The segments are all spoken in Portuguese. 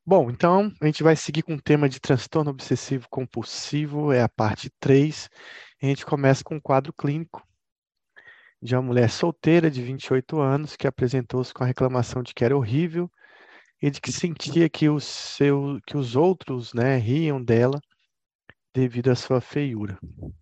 Bom, então a gente vai seguir com o tema de transtorno obsessivo compulsivo, é a parte 3. A gente começa com um quadro clínico de uma mulher solteira de 28 anos que apresentou-se com a reclamação de que era horrível e de que sentia que os outros, né, riam dela devido à sua feiura.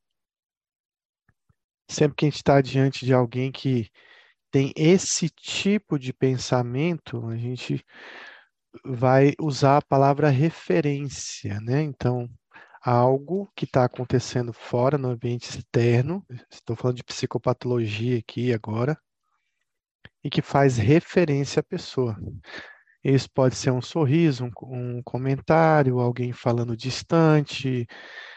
Sempre que a gente está diante de alguém que tem esse tipo de pensamento, a gente vai usar a palavra referência, né? Então, algo que está acontecendo fora no ambiente externo, estou falando de psicopatologia aqui agora, e que faz referência à pessoa. Isso pode ser um sorriso, um comentário, alguém falando distante,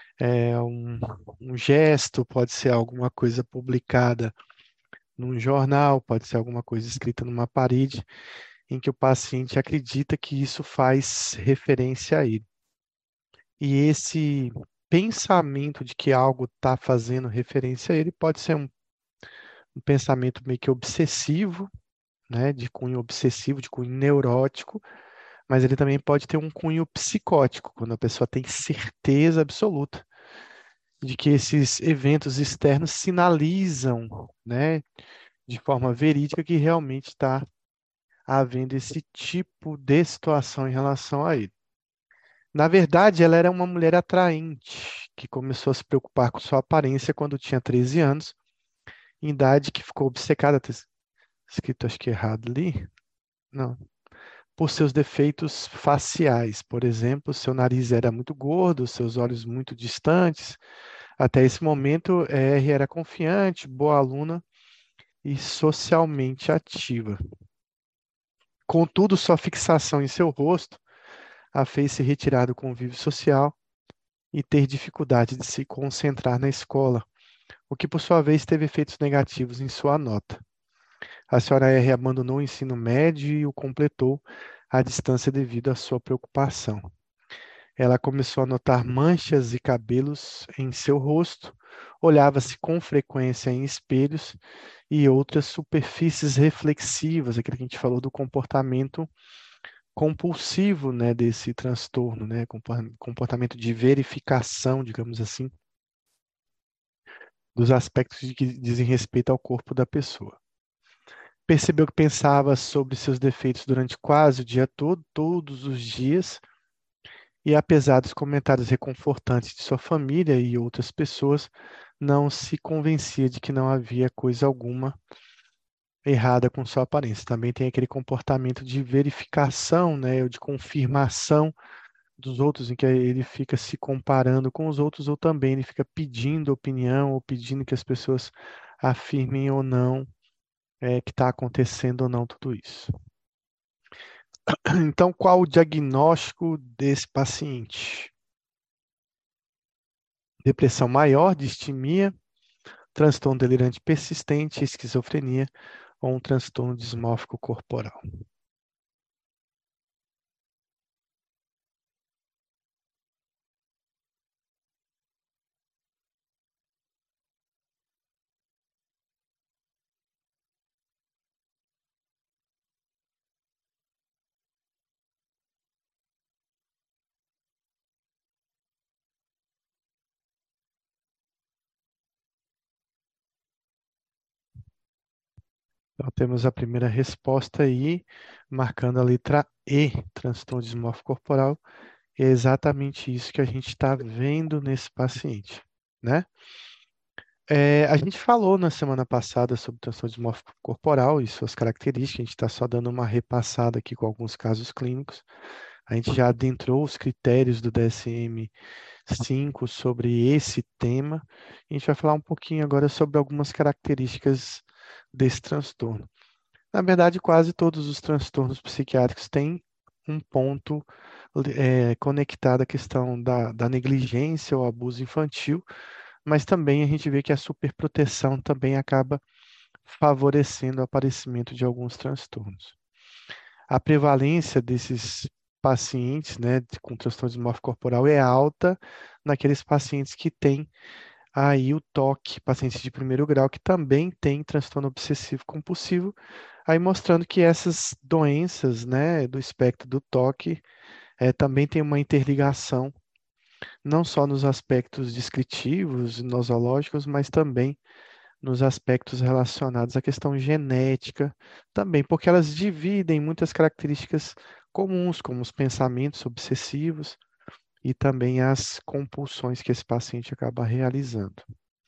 um gesto, pode ser alguma coisa publicada num jornal, pode ser alguma coisa escrita numa parede, em que o paciente acredita que isso faz referência a ele. E esse pensamento de que algo está fazendo referência a ele pode ser um pensamento meio que obsessivo, né, de cunho obsessivo, de cunho neurótico, mas ele também pode ter um cunho psicótico, quando a pessoa tem certeza absoluta de que esses eventos externos sinalizam, né, de forma verídica que realmente está havendo esse tipo de situação em relação a ele. Na verdade, ela era uma mulher atraente, que começou a se preocupar com sua aparência quando tinha 13 anos, em idade que ficou obcecada, tá escrito acho que errado ali, não, por seus defeitos faciais. Por exemplo, seu nariz era muito gordo, seus olhos muito distantes. Até esse momento, R era confiante, boa aluna e socialmente ativa. Contudo, sua fixação em seu rosto a fez se retirar do convívio social e ter dificuldade de se concentrar na escola, o que por sua vez teve efeitos negativos em sua nota. A senhora R abandonou o ensino médio e o completou à distância devido à sua preocupação. Ela começou a notar manchas e cabelos em seu rosto, olhava-se com frequência em espelhos e outras superfícies reflexivas, aquilo que a gente falou do comportamento compulsivo, né, desse transtorno, né, comportamento de verificação, digamos assim, dos aspectos de que dizem respeito ao corpo da pessoa. Percebeu que pensava sobre seus defeitos durante quase o dia todo, todos os dias, e apesar dos comentários reconfortantes de sua família e outras pessoas, não se convencia de que não havia coisa alguma errada com sua aparência. Também tem aquele comportamento de verificação, né, ou de confirmação dos outros, em que ele fica se comparando com os outros, ou também ele fica pedindo opinião, ou pedindo que as pessoas afirmem ou não que está acontecendo ou não tudo isso. Então, qual o diagnóstico desse paciente? Depressão maior, distimia, transtorno delirante persistente, esquizofrenia ou um transtorno dismórfico corporal. Então, temos a primeira resposta aí, marcando a letra E, transtorno dismórfico corporal. É exatamente isso que a gente está vendo nesse paciente, né? A gente falou na semana passada sobre transtorno dismórfico corporal e suas características, a gente está só dando uma repassada aqui com alguns casos clínicos. A gente já adentrou os critérios do DSM-5 sobre esse tema. A gente vai falar um pouquinho agora sobre algumas características desse transtorno. Na verdade, quase todos os transtornos psiquiátricos têm um ponto conectado à questão da negligência ou abuso infantil, mas também a gente vê que a superproteção também acaba favorecendo o aparecimento de alguns transtornos. A prevalência desses pacientes, né, com transtorno dismórfico corporal é alta naqueles pacientes que têm aí o TOC, pacientes de primeiro grau que também têm transtorno obsessivo compulsivo, aí mostrando que essas doenças, né, do espectro do TOC também tem uma interligação, não só nos aspectos descritivos, nosológicos, mas também nos aspectos relacionados à questão genética, também, porque elas dividem muitas características comuns, como os pensamentos obsessivos e também as compulsões que esse paciente acaba realizando.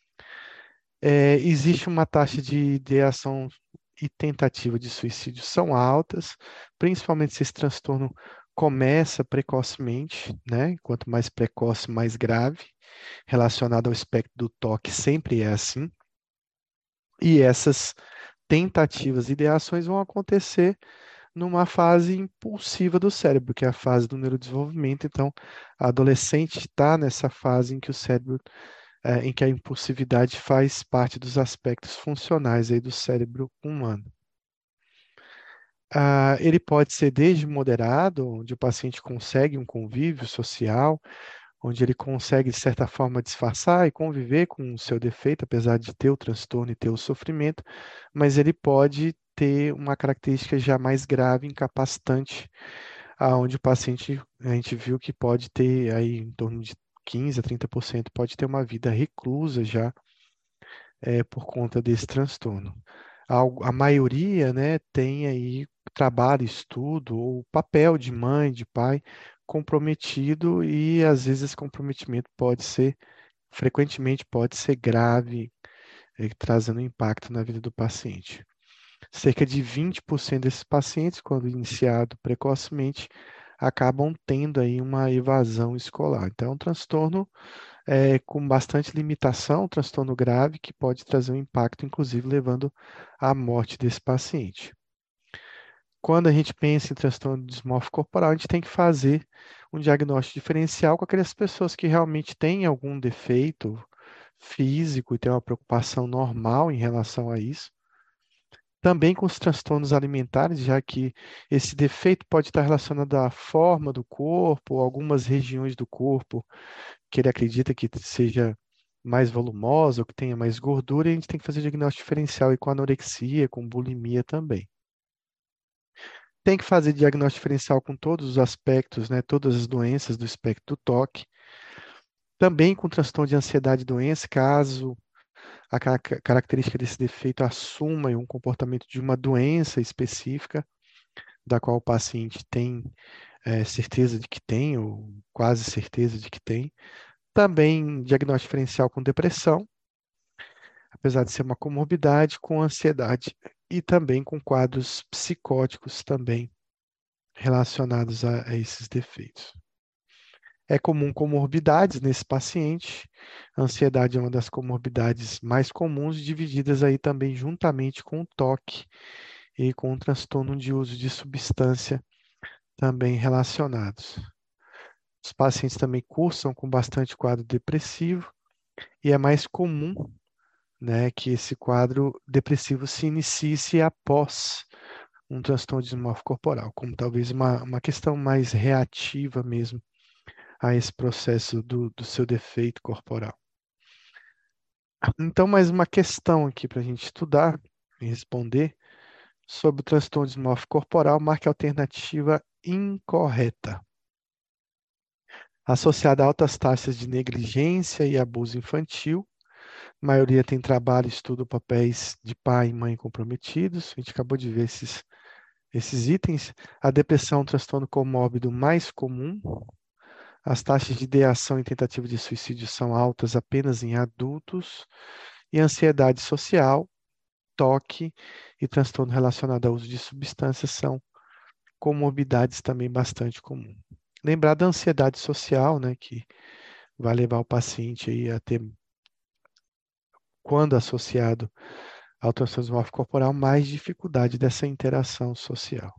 Existe uma taxa de ideação e tentativa de suicídio são altas, principalmente se esse transtorno começa precocemente, né? Quanto mais precoce, mais grave, relacionado ao espectro do toque, sempre é assim. E essas tentativas e ideações vão acontecer numa fase impulsiva do cérebro, que é a fase do neurodesenvolvimento. Então, a adolescente está nessa fase em que o cérebro, em que a impulsividade faz parte dos aspectos funcionais aí do cérebro humano. Ele pode ser desde moderado, onde o paciente consegue um convívio social, onde ele consegue, de certa forma, disfarçar e conviver com o seu defeito, apesar de ter o transtorno e ter o sofrimento, mas ele pode ter uma característica já mais grave, incapacitante, aonde o paciente, a gente viu que pode ter aí em torno de 15 a 30%, pode ter uma vida reclusa já por conta desse transtorno. A maioria, né, tem aí trabalho, estudo, ou papel de mãe, de pai comprometido e às vezes esse comprometimento pode ser, frequentemente pode ser grave, trazendo impacto na vida do paciente. Cerca de 20% desses pacientes, quando iniciado precocemente, acabam tendo aí uma evasão escolar. Então, é um transtorno com bastante limitação, um transtorno grave que pode trazer um impacto, inclusive levando à morte desse paciente. Quando a gente pensa em transtorno dismórfico corporal, a gente tem que fazer um diagnóstico diferencial com aquelas pessoas que realmente têm algum defeito físico e têm uma preocupação normal em relação a isso. Também com os transtornos alimentares, já que esse defeito pode estar relacionado à forma do corpo, ou algumas regiões do corpo que ele acredita que seja mais volumosa ou que tenha mais gordura, e a gente tem que fazer diagnóstico diferencial e com anorexia, com bulimia também. Tem que fazer diagnóstico diferencial com todos os aspectos, né, todas as doenças do espectro do toque. Também com transtorno de ansiedade e doença, caso a característica desse defeito assuma um comportamento de uma doença específica, da qual o paciente tem certeza de que tem, ou quase certeza de que tem. Também diagnóstico diferencial com depressão, apesar de ser uma comorbidade, com ansiedade e também com quadros psicóticos também relacionados a esses defeitos. É comum comorbidades nesse paciente. A ansiedade é uma das comorbidades mais comuns, divididas aí também juntamente com o toque e com o transtorno de uso de substância também relacionados. Os pacientes também cursam com bastante quadro depressivo e é mais comum, né, que esse quadro depressivo se inicie após um transtorno dismórfico corporal, como talvez uma questão mais reativa mesmo a esse processo do seu defeito corporal. Então, mais uma questão aqui para a gente estudar e responder sobre o transtorno dismórfico corporal, marque a alternativa incorreta. Associada a altas taxas de negligência e abuso infantil, a maioria tem trabalho, estudo, papéis de pai e mãe comprometidos. A gente acabou de ver esses itens. A depressão é um transtorno comórbido mais comum. As taxas de ideação e tentativa de suicídio são altas apenas em adultos. E a ansiedade social, toque e transtorno relacionado ao uso de substâncias são comorbidades também bastante comuns. Lembrar da ansiedade social, né, que vai levar o paciente aí a ter, quando associado ao transtorno dismórfico corporal, mais dificuldade dessa interação social.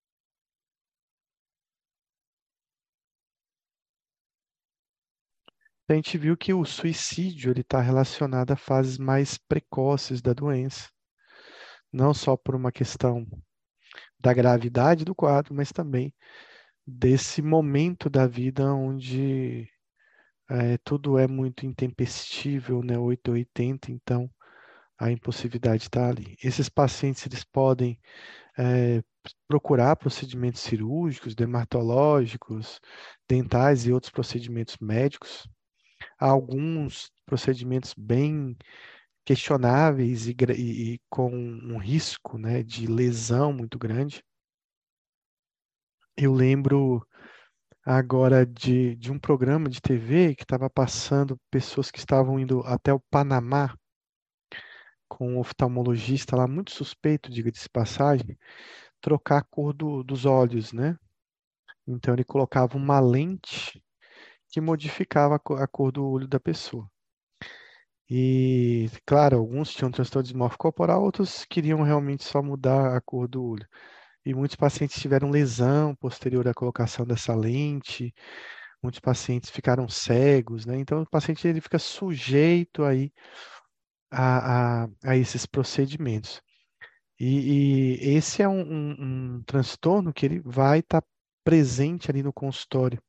A gente viu que o suicídio ele está relacionado a fases mais precoces da doença, não só por uma questão da gravidade do quadro, mas também desse momento da vida onde tudo é muito intempestível, né, 8 ou 80, então a impulsividade está ali. Esses pacientes eles podem procurar procedimentos cirúrgicos, dermatológicos, dentais e outros procedimentos médicos. Há alguns procedimentos bem questionáveis e com um risco, né, de lesão muito grande. Eu lembro agora de um programa de TV que estava passando pessoas que estavam indo até o Panamá com um oftalmologista lá, muito suspeito, diga-se de passagem, trocar a cor dos olhos, né? Então ele colocava uma lente que modificava a cor do olho da pessoa. E, claro, alguns tinham transtorno dismórfico corporal, outros queriam realmente só mudar a cor do olho. E muitos pacientes tiveram lesão posterior à colocação dessa lente, muitos pacientes ficaram cegos, né? Então, o paciente ele fica sujeito aí a esses procedimentos. E esse é um transtorno que ele vai estar presente ali no consultório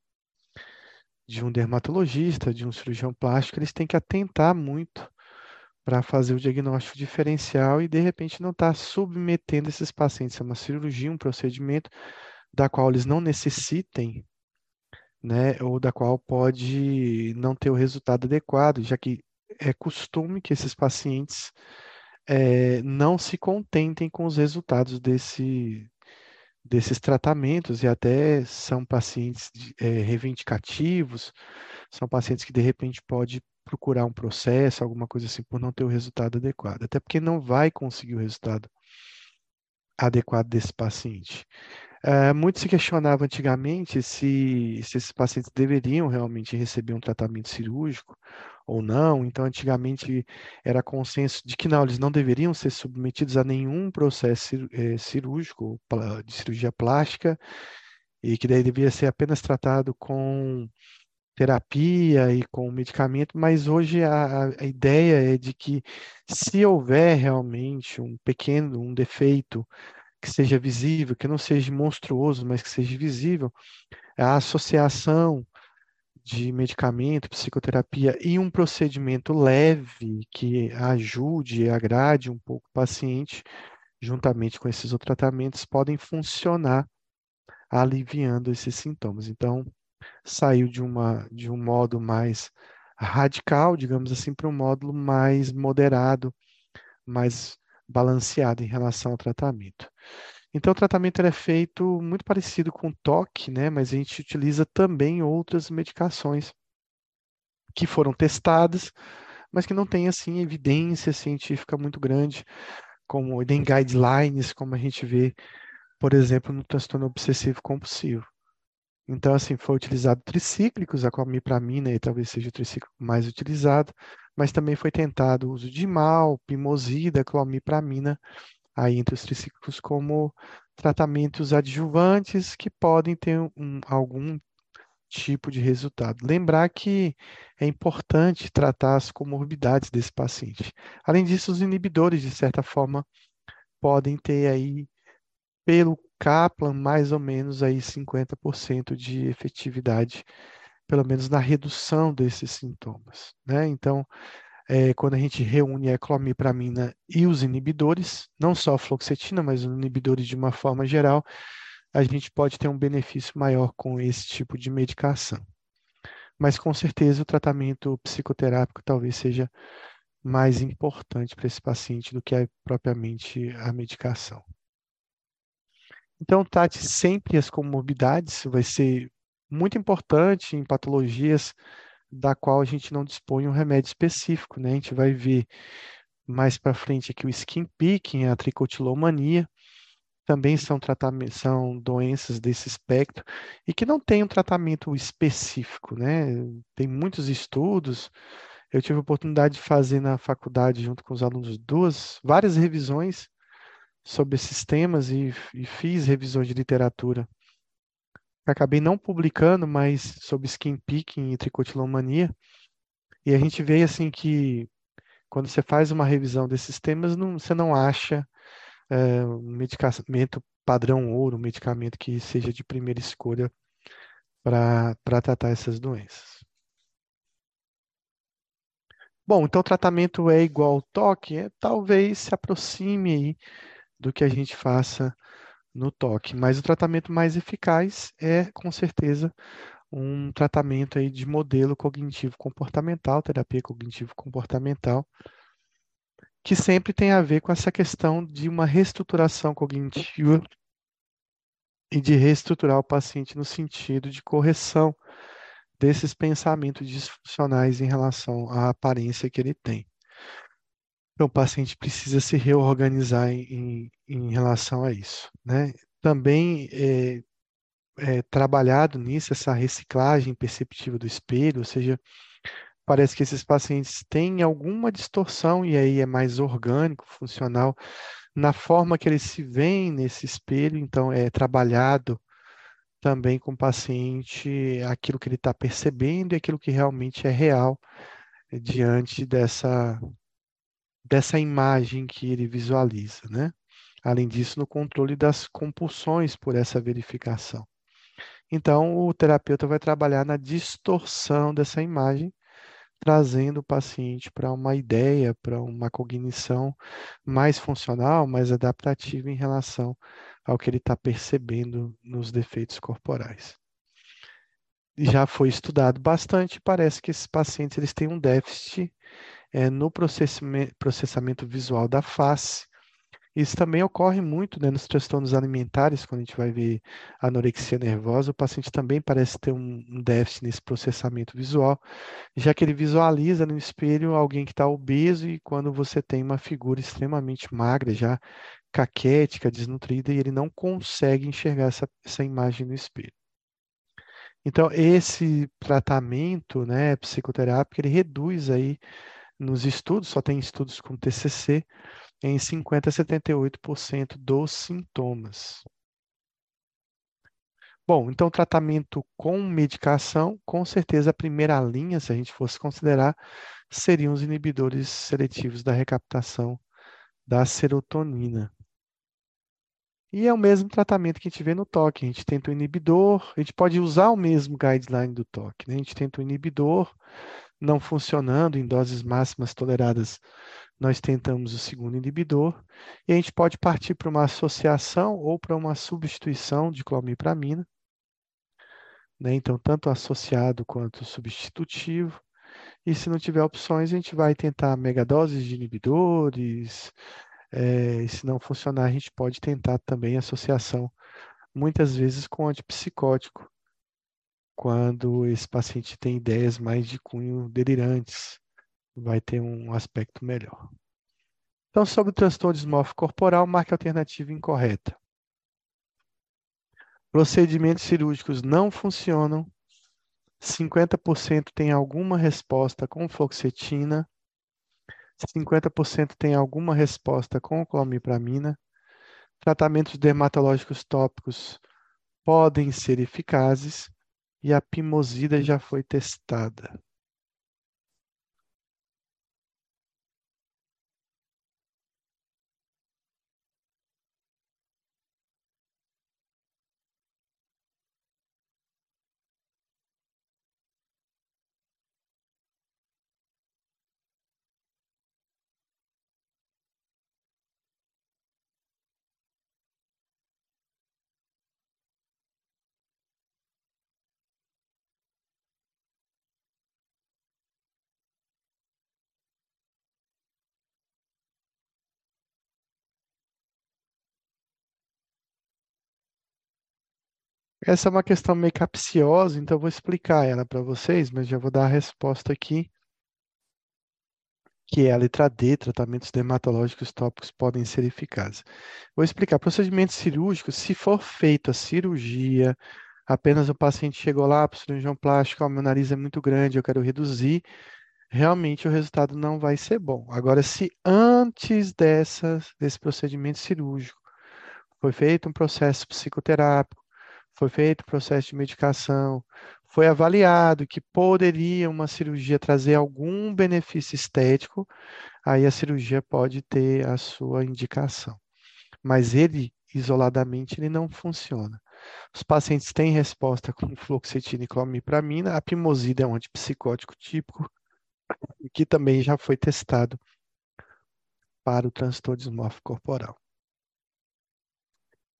de um dermatologista, de um cirurgião plástico, eles têm que atentar muito para fazer o diagnóstico diferencial e, de repente, não estar submetendo esses pacientes a uma cirurgia, um procedimento da qual eles não necessitem, né, ou da qual pode não ter o resultado adequado, já que é costume que esses pacientes não se contentem com os resultados desses tratamentos e até são pacientes reivindicativos, são pacientes que de repente pode procurar um processo, alguma coisa assim, por não ter o resultado adequado, até porque não vai conseguir o resultado adequado desse paciente. Muito se questionava antigamente se esses pacientes deveriam realmente receber um tratamento cirúrgico ou não. Então, antigamente era consenso de que não, eles não deveriam ser submetidos a nenhum processo cirúrgico, de cirurgia plástica, e que daí deveria ser apenas tratado com terapia e com medicamento, mas hoje a ideia é de que se houver realmente um defeito que seja visível, que não seja monstruoso, mas que seja visível, a associação de medicamento, psicoterapia e um procedimento leve que ajude e agrade um pouco o paciente, juntamente com esses outros tratamentos, podem funcionar aliviando esses sintomas. Então, saiu de um modo mais radical, digamos assim, para um módulo mais moderado, mais balanceado em relação ao tratamento. Então, o tratamento ele é feito muito parecido com o toque, né? Mas a gente utiliza também outras medicações que foram testadas, mas que não têm assim evidência científica muito grande, como nem guidelines, como a gente vê, por exemplo, no transtorno obsessivo compulsivo. Então, assim, foi utilizado tricíclicos, a clomipramina e talvez seja o tricíclico mais utilizado, mas também foi tentado o uso de mal, pimosida, clomipramina, aí entre os tricíclicos como tratamentos adjuvantes que podem ter algum tipo de resultado. Lembrar que é importante tratar as comorbidades desse paciente. Além disso, os inibidores, de certa forma, podem ter aí pelo Kaplan, mais ou menos aí 50% de efetividade, pelo menos na redução desses sintomas, né? Então, quando a gente reúne a clomipramina e os inibidores, não só a fluoxetina, mas os inibidores de uma forma geral, a gente pode ter um benefício maior com esse tipo de medicação. Mas com certeza o tratamento psicoterápico talvez seja mais importante para esse paciente do que propriamente a medicação. Então, trate sempre as comorbidades, vai ser muito importante em patologias da qual a gente não dispõe um remédio específico, né? A gente vai ver mais para frente aqui o skin picking, a tricotilomania, também são doenças desse espectro e que não tem um tratamento específico, né? Tem muitos estudos. Eu tive a oportunidade de fazer na faculdade, junto com os alunos, várias revisões sobre esses temas e fiz revisões de literatura. Acabei não publicando, mas sobre skin picking e tricotilomania. E a gente vê assim que quando você faz uma revisão desses temas, você não acha um medicamento padrão ouro, um medicamento que seja de primeira escolha para tratar essas doenças. Bom, então o tratamento é igual ao toque, talvez se aproxime aí do que a gente faça no toque. Mas o tratamento mais eficaz é, com certeza, um tratamento aí de modelo cognitivo comportamental, terapia cognitivo comportamental, que sempre tem a ver com essa questão de uma reestruturação cognitiva e de reestruturar o paciente no sentido de correção desses pensamentos disfuncionais em relação à aparência que ele tem. Então, o paciente precisa se reorganizar em relação a isso, né? Também é trabalhado nisso, essa reciclagem perceptiva do espelho, ou seja, parece que esses pacientes têm alguma distorção, e aí é mais orgânico, funcional, na forma que eles se veem nesse espelho, então é trabalhado também com o paciente aquilo que ele está percebendo e aquilo que realmente é real diante dessa imagem que ele visualiza, né? Além disso, no controle das compulsões por essa verificação. Então, o terapeuta vai trabalhar na distorção dessa imagem, trazendo o paciente para uma ideia, para uma cognição mais funcional, mais adaptativa em relação ao que ele está percebendo nos defeitos corporais. Já foi estudado bastante, parece que esses pacientes eles têm um déficit no processamento visual da face. Isso também ocorre muito, né, nos transtornos alimentares, quando a gente vai ver anorexia nervosa, o paciente também parece ter um déficit nesse processamento visual, já que ele visualiza no espelho alguém que está obeso e quando você tem uma figura extremamente magra, já caquética, desnutrida, e ele não consegue enxergar essa imagem no espelho. Então, esse tratamento, né, psicoterápico, ele reduz aí nos estudos, só tem estudos com TCC, em 50 a 78% dos sintomas. Bom, então tratamento com medicação, com certeza a primeira linha, se a gente fosse considerar, seriam os inibidores seletivos da recaptação da serotonina. E é o mesmo tratamento que a gente vê no toque. A gente tenta o inibidor, a gente pode usar o mesmo guideline do toque, né? A gente tenta o inibidor, não funcionando em doses máximas toleradas, nós tentamos o segundo inibidor, e a gente pode partir para uma associação ou para uma substituição de clomipramina, né? Então, tanto associado quanto substitutivo. E se não tiver opções, a gente vai tentar megadoses de inibidores. E se não funcionar, a gente pode tentar também associação, muitas vezes com antipsicótico, quando esse paciente tem ideias mais de cunho delirantes, vai ter um aspecto melhor. Então, sobre o transtorno dismórfico corporal, marque a alternativa incorreta. Procedimentos cirúrgicos não funcionam. 50% tem alguma resposta com fluoxetina. 50% tem alguma resposta com clomipramina. Tratamentos dermatológicos tópicos podem ser eficazes e a pimosida já foi testada. Essa é uma questão meio capciosa, então eu vou explicar ela para vocês, mas já vou dar a resposta aqui, que é a letra D, tratamentos dermatológicos tópicos podem ser eficazes. Vou explicar. Procedimentos cirúrgicos, se for feita a cirurgia, apenas o paciente chegou lá para o cirurgião plástico, meu nariz é muito grande, eu quero reduzir, realmente o resultado não vai ser bom. Agora, se antes desse procedimento cirúrgico foi feito um processo psicoterápico, foi feito um processo de medicação, foi avaliado que poderia uma cirurgia trazer algum benefício estético, aí a cirurgia pode ter a sua indicação. Mas ele, isoladamente, ele não funciona. Os pacientes têm resposta com fluoxetina e clomipramina, a pimosida é um antipsicótico típico, que também já foi testado para o transtorno dismórfico corporal.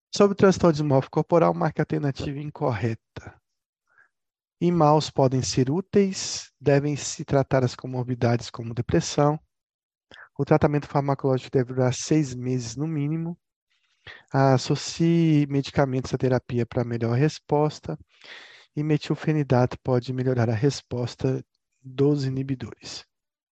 Sobre o transtorno dismórfico corporal, marque a alternativa incorreta. Maus podem ser úteis, devem se tratar as comorbidades como depressão. O tratamento farmacológico deve durar 6 meses no mínimo. Associe medicamentos à terapia para melhor resposta. E metilfenidato pode melhorar a resposta dos inibidores.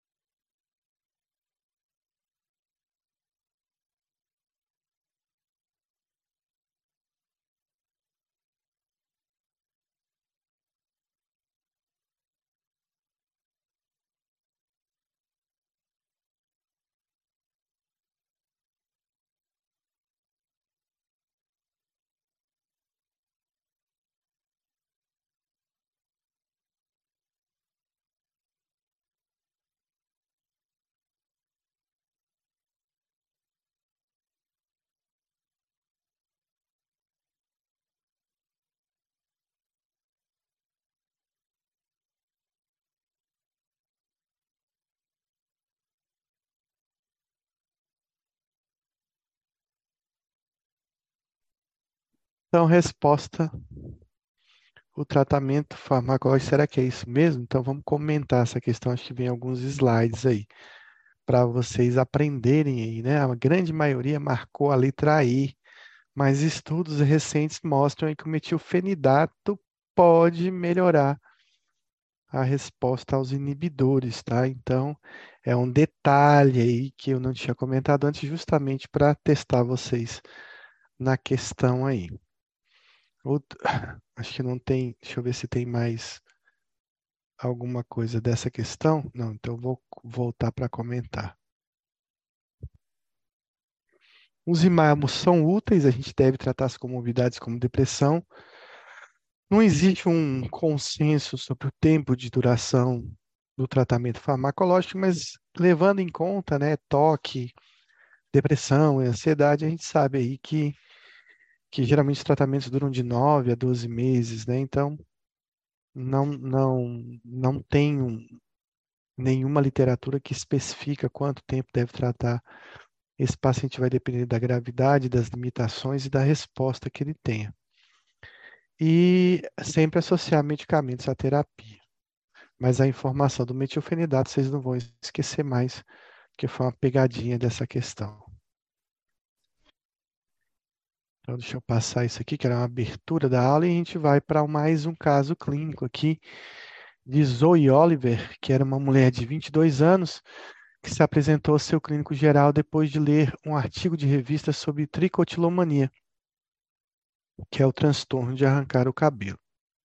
Então, resposta: o tratamento farmacológico, será que é isso mesmo? Então, vamos comentar essa questão. Acho que vem alguns slides aí para vocês aprenderem aí, né? A grande maioria marcou a letra E, mas estudos recentes mostram aí que o metilfenidato pode melhorar a resposta aos inibidores, tá? Então, é um detalhe aí que eu não tinha comentado antes, justamente para testar vocês na questão aí. Acho que não tem, deixa eu ver se tem mais alguma coisa dessa questão. Não, então eu vou voltar para comentar. Os imamus são úteis, a gente deve tratar as comorbidades como depressão. Não existe um consenso sobre o tempo de duração do tratamento farmacológico, mas levando em conta, né, toque, depressão e ansiedade, a gente sabe aí que geralmente os tratamentos duram de 9 a 12 meses, né? Então, não tem nenhuma literatura que especifica quanto tempo deve tratar. Esse paciente vai depender da gravidade, das limitações e da resposta que ele tenha. E sempre associar medicamentos à terapia. Mas a informação do metilfenidato vocês não vão esquecer mais, porque foi uma pegadinha dessa questão. Então, deixa eu passar isso aqui, que era uma abertura da aula, e a gente vai para mais um caso clínico aqui de Zoe Oliver, que era uma mulher de 22 anos, que se apresentou ao seu clínico geral depois de ler um artigo de revista sobre tricotilomania, que é o transtorno de arrancar o cabelo.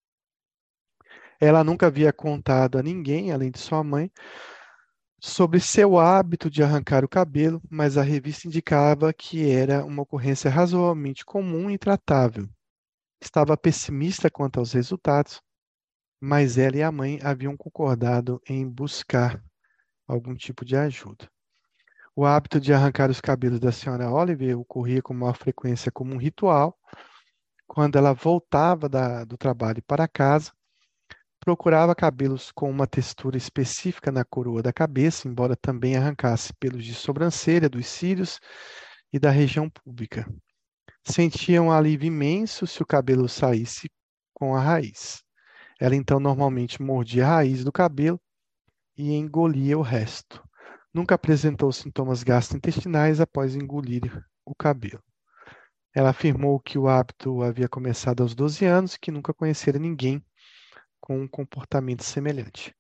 Ela nunca havia contado a ninguém, além de sua mãe, sobre seu hábito de arrancar o cabelo, mas a revista indicava que era uma ocorrência razoavelmente comum e tratável. Estava pessimista quanto aos resultados, mas ela e a mãe haviam concordado em buscar algum tipo de ajuda. O hábito de arrancar os cabelos da senhora Oliver ocorria com maior frequência como um ritual. Quando ela voltava do trabalho para casa, procurava cabelos com uma textura específica na coroa da cabeça, embora também arrancasse pelos de sobrancelha, dos cílios e da região púbica. Sentia um alívio imenso se o cabelo saísse com a raiz. Ela então normalmente mordia a raiz do cabelo e engolia o resto. Nunca apresentou sintomas gastrointestinais após engolir o cabelo. Ela afirmou que o hábito havia começado aos 12 anos e que nunca conhecera ninguém com um comportamento semelhante.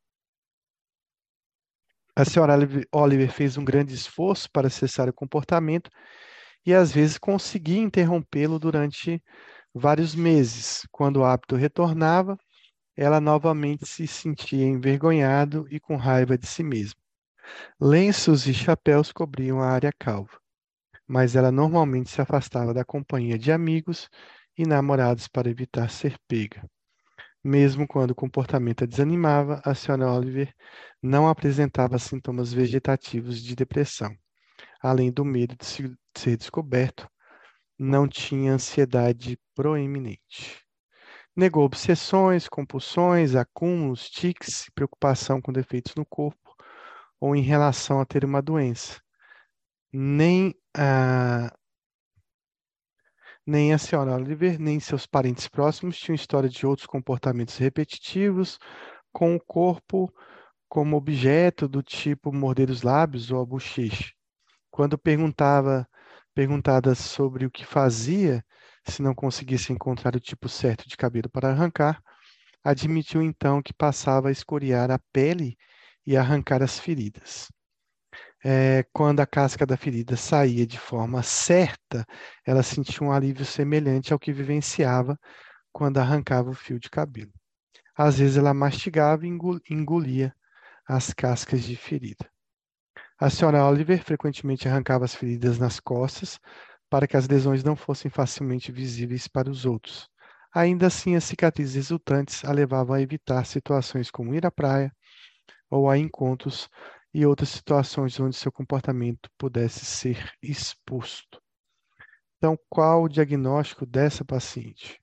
A senhora Oliver fez um grande esforço para cessar o comportamento e às vezes conseguia interrompê-lo durante vários meses. Quando o hábito retornava, ela novamente se sentia envergonhado e com raiva de si mesma. Lenços e chapéus cobriam a área calva, mas ela normalmente se afastava da companhia de amigos e namorados para evitar ser pega. Mesmo quando o comportamento a desanimava, a senhora Oliver não apresentava sintomas vegetativos de depressão. Além do medo de ser descoberto, não tinha ansiedade proeminente. Negou obsessões, compulsões, acúmulos, tiques, preocupação com defeitos no corpo ou em relação a ter uma doença. Nem, Nem a senhora Oliver, nem seus parentes próximos tinham história de outros comportamentos repetitivos, com o corpo como objeto do tipo morder os lábios ou a bochecha. Quando perguntada sobre o que fazia se não conseguisse encontrar o tipo certo de cabelo para arrancar, admitiu então que passava a escoriar a pele e arrancar as feridas. Quando a casca da ferida saía de forma certa, ela sentia um alívio semelhante ao que vivenciava quando arrancava o fio de cabelo. Às vezes ela mastigava e engolia as cascas de ferida. A senhora Oliver frequentemente arrancava as feridas nas costas para que as lesões não fossem facilmente visíveis para os outros. Ainda assim, as cicatrizes resultantes a levavam a evitar situações como ir à praia ou a encontros e outras situações onde seu comportamento pudesse ser exposto. Então, qual o diagnóstico dessa paciente?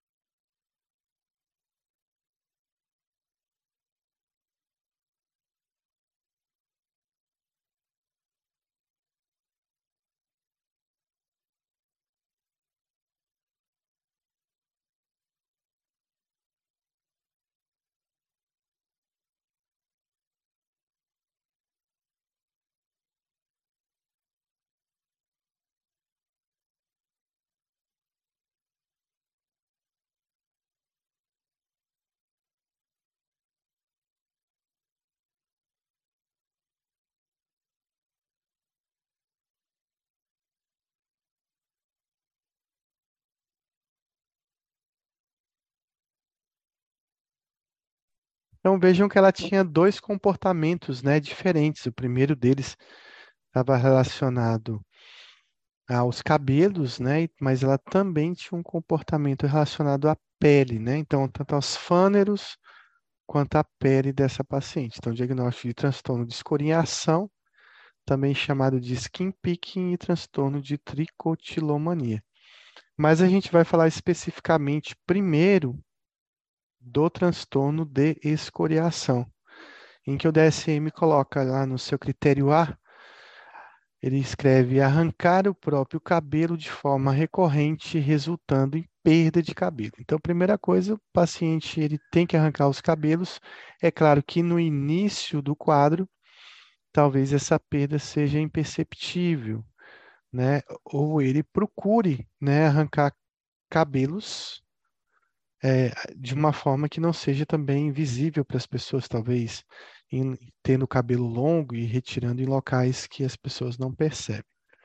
Então, vejam que ela tinha dois comportamentos, né, diferentes. O primeiro deles estava relacionado aos cabelos, né? Mas ela também tinha um comportamento relacionado à pele, né? Então, tanto aos fâneros quanto à pele dessa paciente. Então, diagnóstico de transtorno de escoriação, também chamado de skin picking e transtorno de tricotilomania. Mas a gente vai falar especificamente primeiro do transtorno de escoriação, em que o DSM coloca lá no seu critério A. Ele escreve arrancar o próprio cabelo de forma recorrente, resultando em perda de cabelo. Então, primeira coisa, o paciente ele tem que arrancar os cabelos. É claro que no início do quadro, talvez essa perda seja imperceptível, né? Ou ele procure, né, arrancar cabelos de uma forma que não seja também visível para as pessoas, talvez tendo o cabelo longo e retirando em locais que as pessoas não percebem.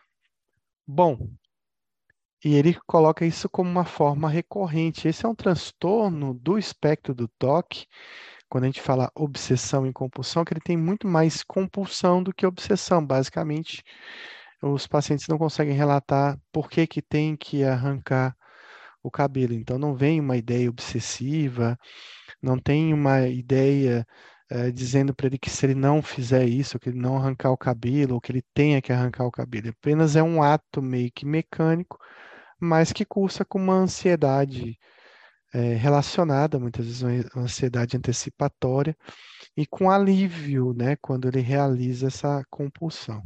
Bom, e ele coloca isso como uma forma recorrente. Esse é um transtorno do espectro do toque, quando a gente fala obsessão e compulsão, que ele tem muito mais compulsão do que obsessão. Basicamente, os pacientes não conseguem relatar por que que tem que arrancar o cabelo. Então, não vem uma ideia obsessiva, não tem uma ideia dizendo para ele que se ele não fizer isso, que ele não arrancar o cabelo, ou que ele tenha que arrancar o cabelo. Apenas é um ato meio que mecânico, mas que cursa com uma ansiedade relacionada, muitas vezes uma ansiedade antecipatória, e com alívio, né, quando ele realiza essa compulsão.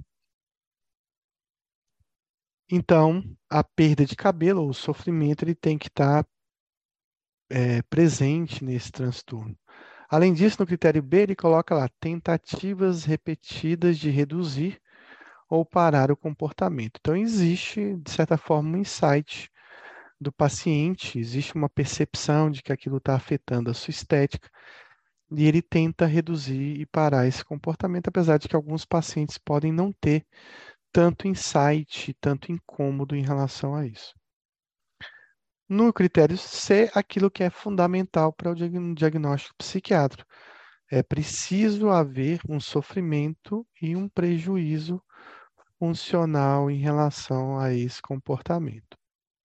Então, a perda de cabelo ou o sofrimento, ele tem que estar presente nesse transtorno. Além disso, no critério B, ele coloca lá tentativas repetidas de reduzir ou parar o comportamento. Então, existe, de certa forma, um insight do paciente, existe uma percepção de que aquilo está afetando a sua estética, e ele tenta reduzir e parar esse comportamento, apesar de que alguns pacientes podem não ter tanto insight, tanto incômodo em relação a isso. No critério C, aquilo que é fundamental para o diagnóstico psiquiátrico. É preciso haver um sofrimento e um prejuízo funcional em relação a esse comportamento.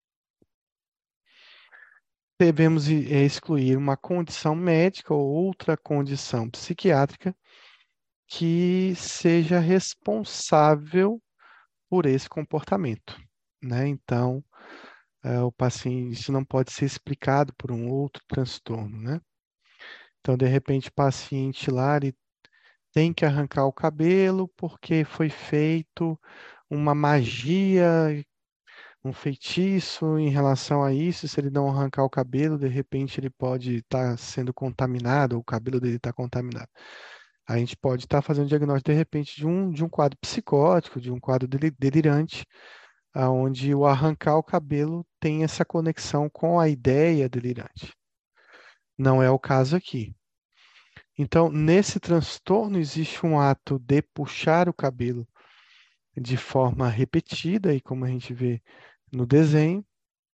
Devemos excluir uma condição médica ou outra condição psiquiátrica que seja responsável por esse comportamento, né? Então, o paciente, isso não pode ser explicado por um outro transtorno, né? Então, de repente, o paciente lá, ele tem que arrancar o cabelo porque foi feito uma magia um feitiço em relação a isso. Se ele não arrancar o cabelo, de repente ele pode estar sendo contaminado, ou o cabelo dele está contaminado. A gente pode estar fazendo diagnóstico, de repente, de um quadro psicótico, de um quadro delirante, aonde o arrancar o cabelo tem essa conexão com a ideia delirante. Não é o caso aqui. Então, nesse transtorno, existe um ato de puxar o cabelo de forma repetida, e como a gente vê no desenho,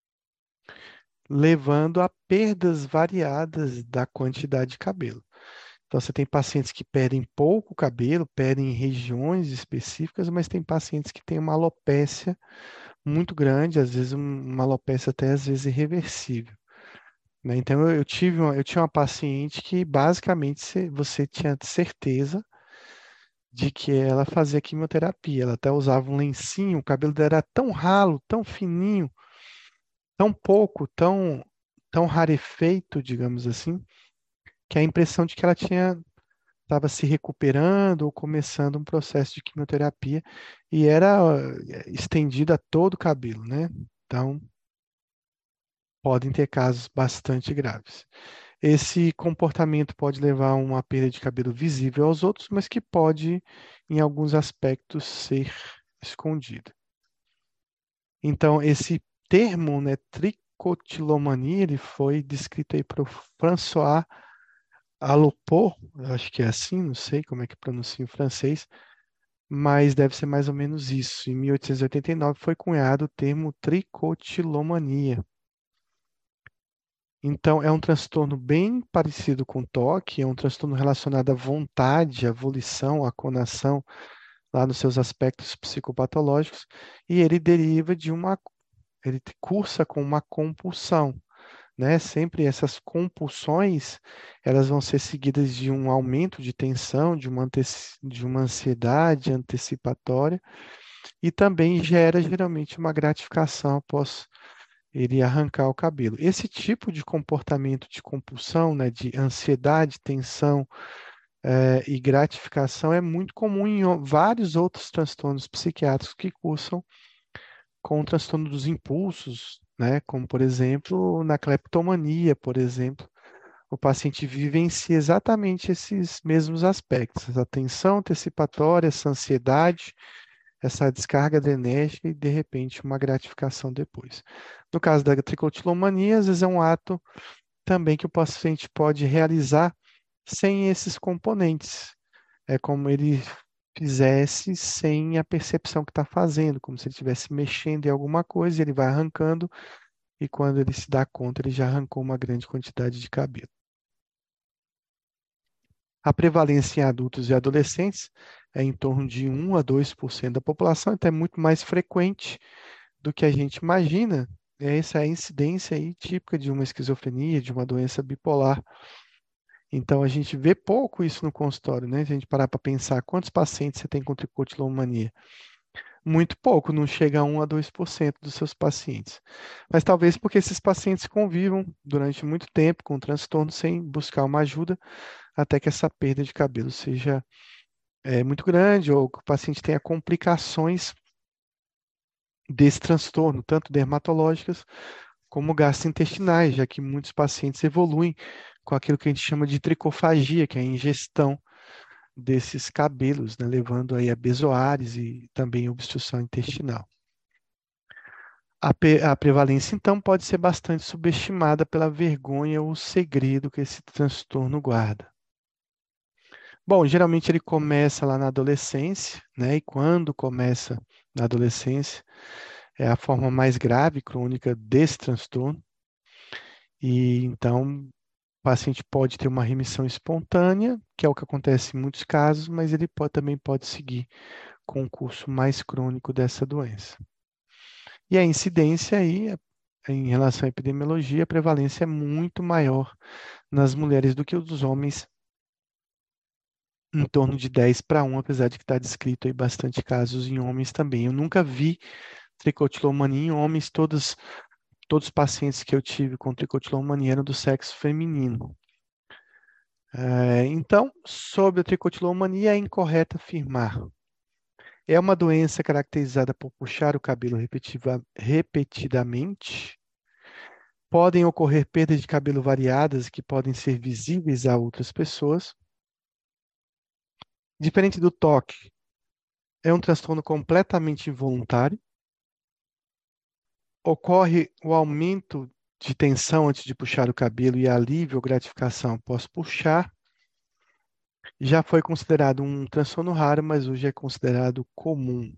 levando a perdas variadas da quantidade de cabelo. Então, você tem pacientes que perdem pouco cabelo, perdem em regiões específicas, mas tem pacientes que têm uma alopécia muito grande, às vezes uma alopecia até às vezes irreversível, né? Então, eu tinha uma paciente que basicamente você tinha certeza de que ela fazia quimioterapia. Ela até usava um lencinho, o cabelo dela era tão ralo, tão fininho, tão pouco, tão rarefeito, digamos assim, que a impressão de que ela estava se recuperando ou começando um processo de quimioterapia e era estendido a todo o cabelo, né? Então, podem ter casos bastante graves. Esse comportamento pode levar a uma perda de cabelo visível aos outros, mas que pode, em alguns aspectos, ser escondido. Então, esse termo, né, tricotilomania, ele foi descrito aí por François Alloport, eu acho que é assim, não sei como é que pronuncia em francês, mas deve ser mais ou menos isso. Em 1889 foi cunhado o termo tricotilomania. Então, é um transtorno bem parecido com toque, é um transtorno relacionado à vontade, à volição, à conação, lá nos seus aspectos psicopatológicos, e ele deriva ele cursa com uma compulsão, né? Sempre essas compulsões, elas vão ser seguidas de um aumento de tensão, de uma ansiedade antecipatória, e também gera geralmente uma gratificação após ele arrancar o cabelo. Esse tipo de comportamento de compulsão, né, de ansiedade, tensão, e gratificação é muito comum em vários outros transtornos psiquiátricos que cursam com o transtorno dos impulsos, né, como, por exemplo, na cleptomania, por exemplo. O paciente vivencia exatamente esses mesmos aspectos, essa tensão antecipatória, essa ansiedade, essa descarga adrenérgica e, de repente, uma gratificação depois. No caso da tricotilomania, às vezes é um ato também que o paciente pode realizar sem esses componentes. É como ele fizesse sem a percepção que está fazendo, como se ele estivesse mexendo em alguma coisa, e ele vai arrancando, e quando ele se dá conta, ele já arrancou uma grande quantidade de cabelo. A prevalência em adultos e adolescentes é em torno de 1 a 2% da população, então é muito mais frequente do que a gente imagina. Essa é a incidência aí típica de uma esquizofrenia, de uma doença bipolar. Então, a gente vê pouco isso no consultório, né? Se a gente parar para pensar quantos pacientes você tem com tricotilomania. Muito pouco, não chega a 1 a 2% dos seus pacientes. Mas talvez porque esses pacientes convivam durante muito tempo com o transtorno sem buscar uma ajuda, até que essa perda de cabelo seja muito grande, ou que o paciente tenha complicações desse transtorno, tanto dermatológicas como gastrointestinais, já que muitos pacientes evoluem com aquilo que a gente chama de tricofagia, que é a ingestão desses cabelos, né, levando aí a bezoares e também obstrução intestinal. A prevalência, então, pode ser bastante subestimada pela vergonha ou segredo que esse transtorno guarda. Bom, geralmente ele começa lá na adolescência, né? E quando começa na adolescência, é a forma mais grave, crônica desse transtorno. E então, o paciente pode ter uma remissão espontânea, que é o que acontece em muitos casos, mas ele também pode seguir com um curso mais crônico dessa doença. E a incidência aí, em relação à epidemiologia, a prevalência é muito maior nas mulheres do que os dos homens, em torno de 10 para 1, apesar de que está descrito aí bastante casos em homens também. Eu nunca vi tricotilomania em homens, todos os pacientes que eu tive com tricotilomania eram do sexo feminino. Então, sobre a tricotilomania, é incorreto afirmar É uma doença caracterizada por puxar o cabelo repetidamente. Podem ocorrer perdas de cabelo variadas que podem ser visíveis a outras pessoas. Diferente do toque, é um transtorno completamente involuntário. Ocorre o aumento de tensão antes de puxar o cabelo e alívio ou gratificação após puxar. Já foi considerado um transtorno raro, mas hoje é considerado comum.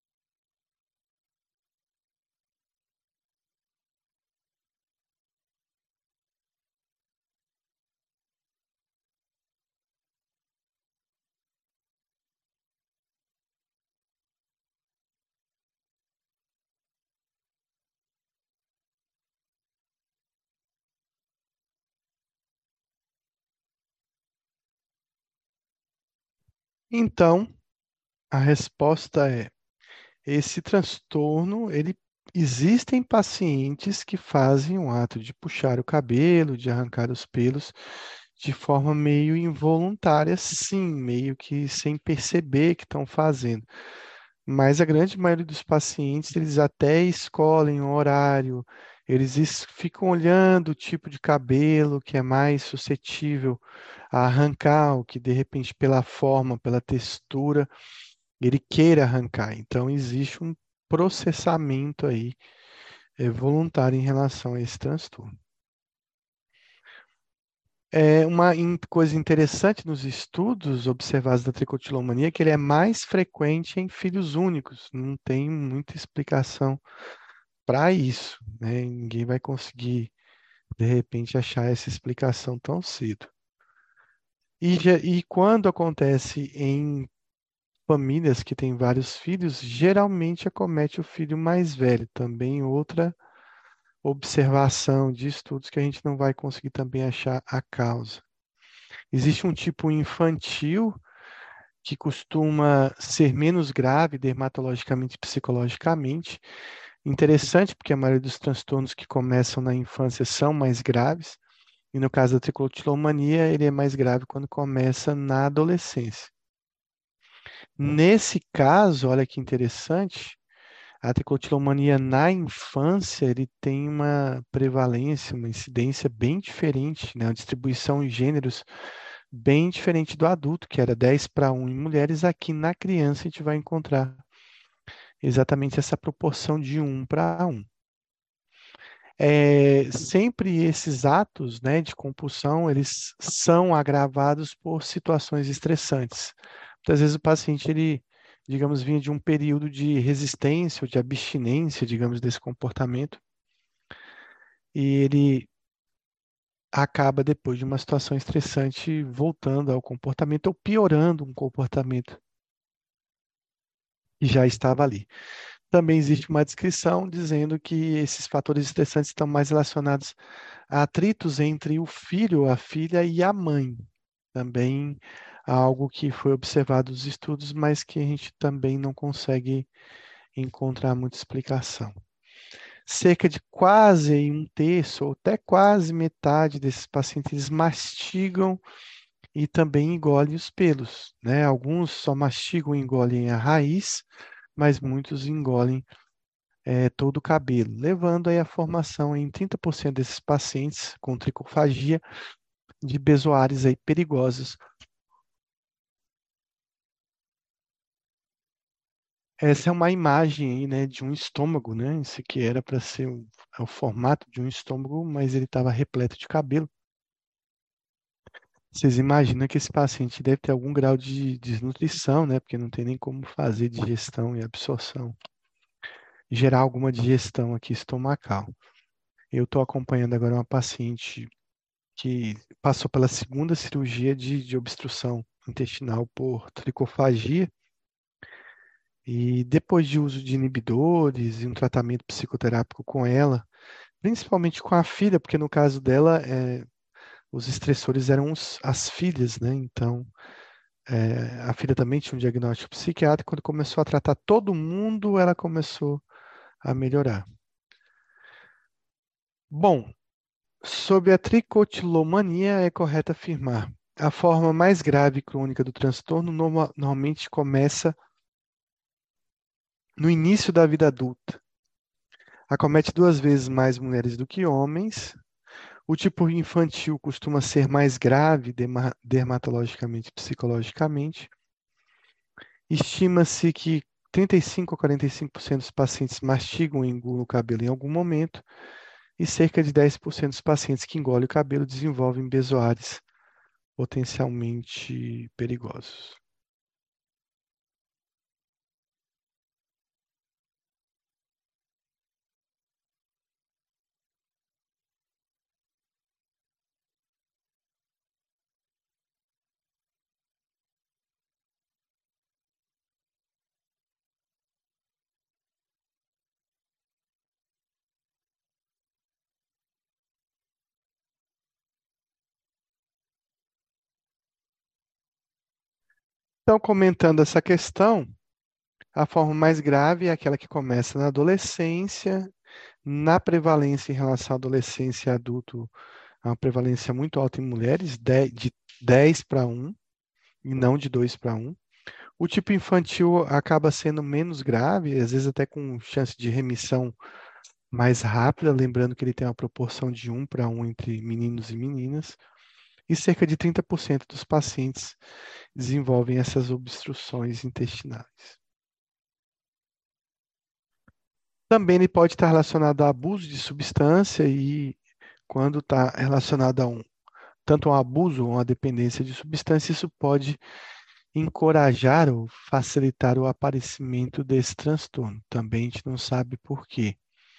Então, a resposta é: esse transtorno, ele existem pacientes que fazem o ato de puxar o cabelo, de arrancar os pelos de forma meio involuntária, sim, meio que sem perceber que estão fazendo. Mas a grande maioria dos pacientes, eles até escolhem o horário, ficam olhando o tipo de cabelo que é mais suscetível a arrancar, o que de repente pela forma, pela textura, ele queira arrancar. Então existe um processamento aí voluntário em relação a esse transtorno. É uma coisa interessante nos estudos observados da tricotilomania é que ele é mais frequente em filhos únicos. Não tem muita explicação para isso, né? Ninguém vai conseguir, de repente, achar essa explicação tão cedo. E quando acontece em famílias que têm vários filhos, geralmente acomete o filho mais velho. Também outra observação de estudos que a gente não vai conseguir também achar a causa. Existe um tipo infantil que costuma ser menos grave dermatologicamente e psicologicamente. Interessante, porque a maioria dos transtornos que começam na infância são mais graves, e no caso da tricotilomania, ele é mais grave quando começa na adolescência. Nesse caso, olha que interessante, a tricotilomania na infância, ele tem uma prevalência, uma incidência bem diferente, né? Uma distribuição em gêneros bem diferente do adulto, que era 10 para 1 em mulheres. Aqui na criança a gente vai encontrar exatamente essa proporção de 1 para 1. Sempre esses atos, né, de compulsão, eles são agravados por situações estressantes. Muitas vezes o paciente, ele, digamos, vinha de um período de resistência ou de abstinência, digamos, desse comportamento, e ele acaba, depois de uma situação estressante, voltando ao comportamento ou piorando um comportamento que já estava ali. Também existe uma descrição dizendo que esses fatores estressantes estão mais relacionados a atritos entre o filho, a filha e a mãe. Também algo que foi observado nos estudos, mas que a gente também não consegue encontrar muita explicação. Cerca de quase um terço, ou até quase metade desses pacientes, eles mastigam e também engolem os pelos, né? Alguns só mastigam e engolem a raiz, mas muitos engolem todo o cabelo, levando aí a formação em 30% desses pacientes com tricofagia de bezoares aí perigosos. Essa é uma imagem aí, né, de um estômago, né? Isso aqui era para ser o formato de um estômago, mas ele estava repleto de cabelo. Vocês imaginam que esse paciente deve ter algum grau de desnutrição, né? Porque não tem nem como fazer digestão e absorção, gerar alguma digestão aqui estomacal. Eu estou acompanhando agora uma paciente que passou pela segunda cirurgia de obstrução intestinal por tricofagia. E depois de uso de inibidores e um tratamento psicoterápico com ela, principalmente com a filha, porque no caso dela, os estressores eram as filhas, né? Então, a filha também tinha um diagnóstico psiquiátrico. Quando começou a tratar todo mundo, ela começou a melhorar. Bom, sobre a tricotilomania, é correto afirmar: a forma mais grave e crônica do transtorno normalmente começa no início da vida adulta. Acomete 2 vezes mais mulheres do que homens. O tipo infantil costuma ser mais grave dermatologicamente e psicologicamente. Estima-se que 35 a 45% dos pacientes mastigam ou engolam o cabelo em algum momento, e cerca de 10% dos pacientes que engolem o cabelo desenvolvem bezoares potencialmente perigosos. Então, comentando essa questão, a forma mais grave é aquela que começa na adolescência. Na prevalência em relação à adolescência e adulto, há uma prevalência muito alta em mulheres, de 10 para 1, e não de 2 para 1. O tipo infantil acaba sendo menos grave, às vezes até com chance de remissão mais rápida, lembrando que ele tem uma proporção de 1 para 1 entre meninos e meninas, e cerca de 30% dos pacientes desenvolvem essas obstruções intestinais. Também ele pode estar relacionado a abuso de substância e quando está relacionado a tanto um abuso ou uma dependência de substância, isso pode encorajar ou facilitar o aparecimento desse transtorno. Também a gente não sabe por quê.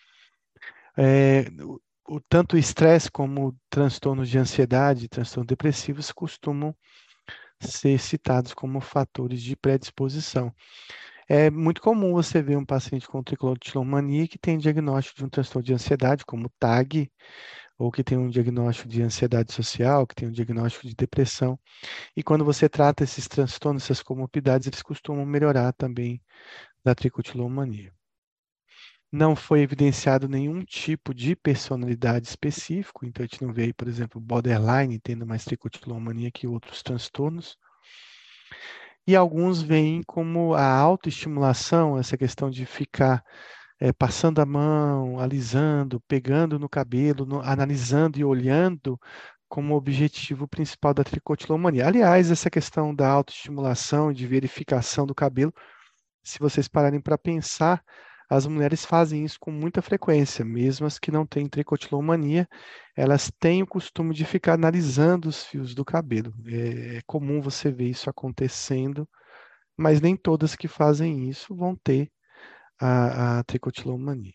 Tanto o estresse como transtornos de ansiedade, transtornos depressivos costumam ser citados como fatores de predisposição. É muito comum você ver um paciente com tricotilomania que tem diagnóstico de um transtorno de ansiedade, como TAG, ou que tem um diagnóstico de ansiedade social, que tem um diagnóstico de depressão. E quando você trata esses transtornos, essas comorbidades, eles costumam melhorar também da tricotilomania. Não foi evidenciado nenhum tipo de personalidade específico, então a gente não vê aí, por exemplo, borderline tendo mais tricotilomania que outros transtornos. E alguns veem como a autoestimulação, essa questão de ficar passando a mão, alisando, pegando no cabelo, analisando e olhando como objetivo principal da tricotilomania. Aliás, essa questão da autoestimulação, de verificação do cabelo, se vocês pararem para pensar, as mulheres fazem isso com muita frequência, mesmo as que não têm tricotilomania, elas têm o costume de ficar analisando os fios do cabelo. É comum você ver isso acontecendo, mas nem todas que fazem isso vão ter a tricotilomania.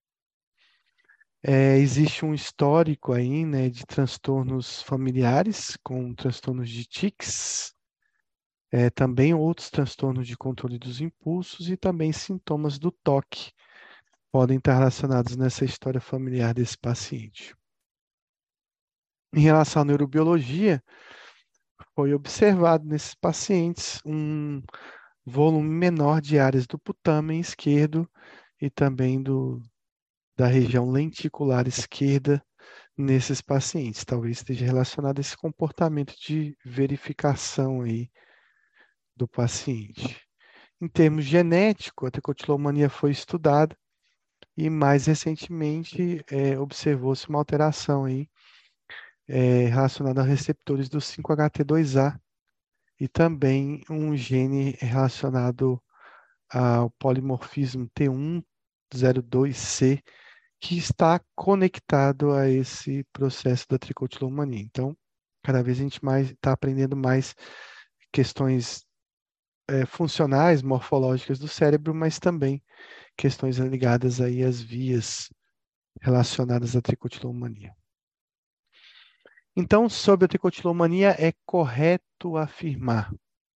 Existe um histórico aí, né, de transtornos familiares, com transtornos de tics, também outros transtornos de controle dos impulsos e também sintomas do toque podem estar relacionados nessa história familiar desse paciente. Em relação à neurobiologia, foi observado nesses pacientes um volume menor de áreas do putamen esquerdo e também da região lenticular esquerda nesses pacientes. Talvez esteja relacionado a esse comportamento de verificação aí do paciente. Em termos genéticos, a tricotilomania foi estudada e mais recentemente observou-se uma alteração aí relacionada a receptores do 5-HT2A e também um gene relacionado ao polimorfismo T102C, que está conectado a esse processo da tricotilomania. Então, cada vez a gente está aprendendo mais questões funcionais, morfológicas do cérebro, mas também questões ligadas aí às vias relacionadas à tricotilomania. Então, sobre a tricotilomania, é correto afirmar: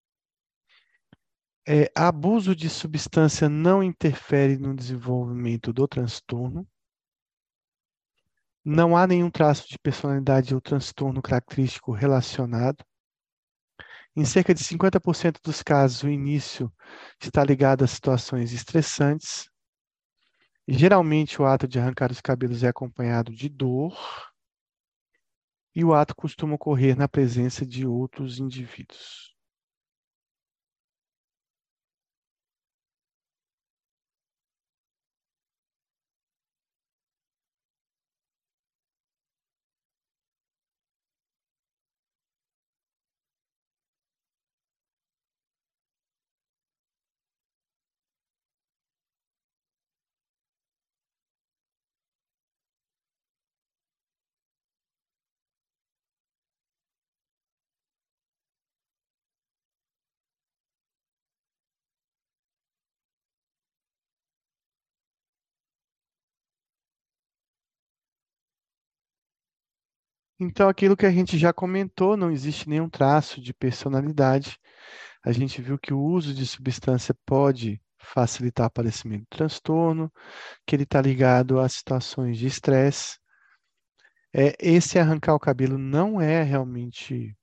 abuso de substância não interfere no desenvolvimento do transtorno. Não há nenhum traço de personalidade ou transtorno característico relacionado. Em cerca de 50% dos casos, o início está ligado a situações estressantes. Geralmente, o ato de arrancar os cabelos é acompanhado de dor, e o ato costuma ocorrer na presença de outros indivíduos. Então, aquilo que a gente já comentou, não existe nenhum traço de personalidade. A gente viu que o uso de substância pode facilitar o aparecimento do transtorno, que ele está ligado a situações de estresse. Esse arrancar o cabelo não é realmente.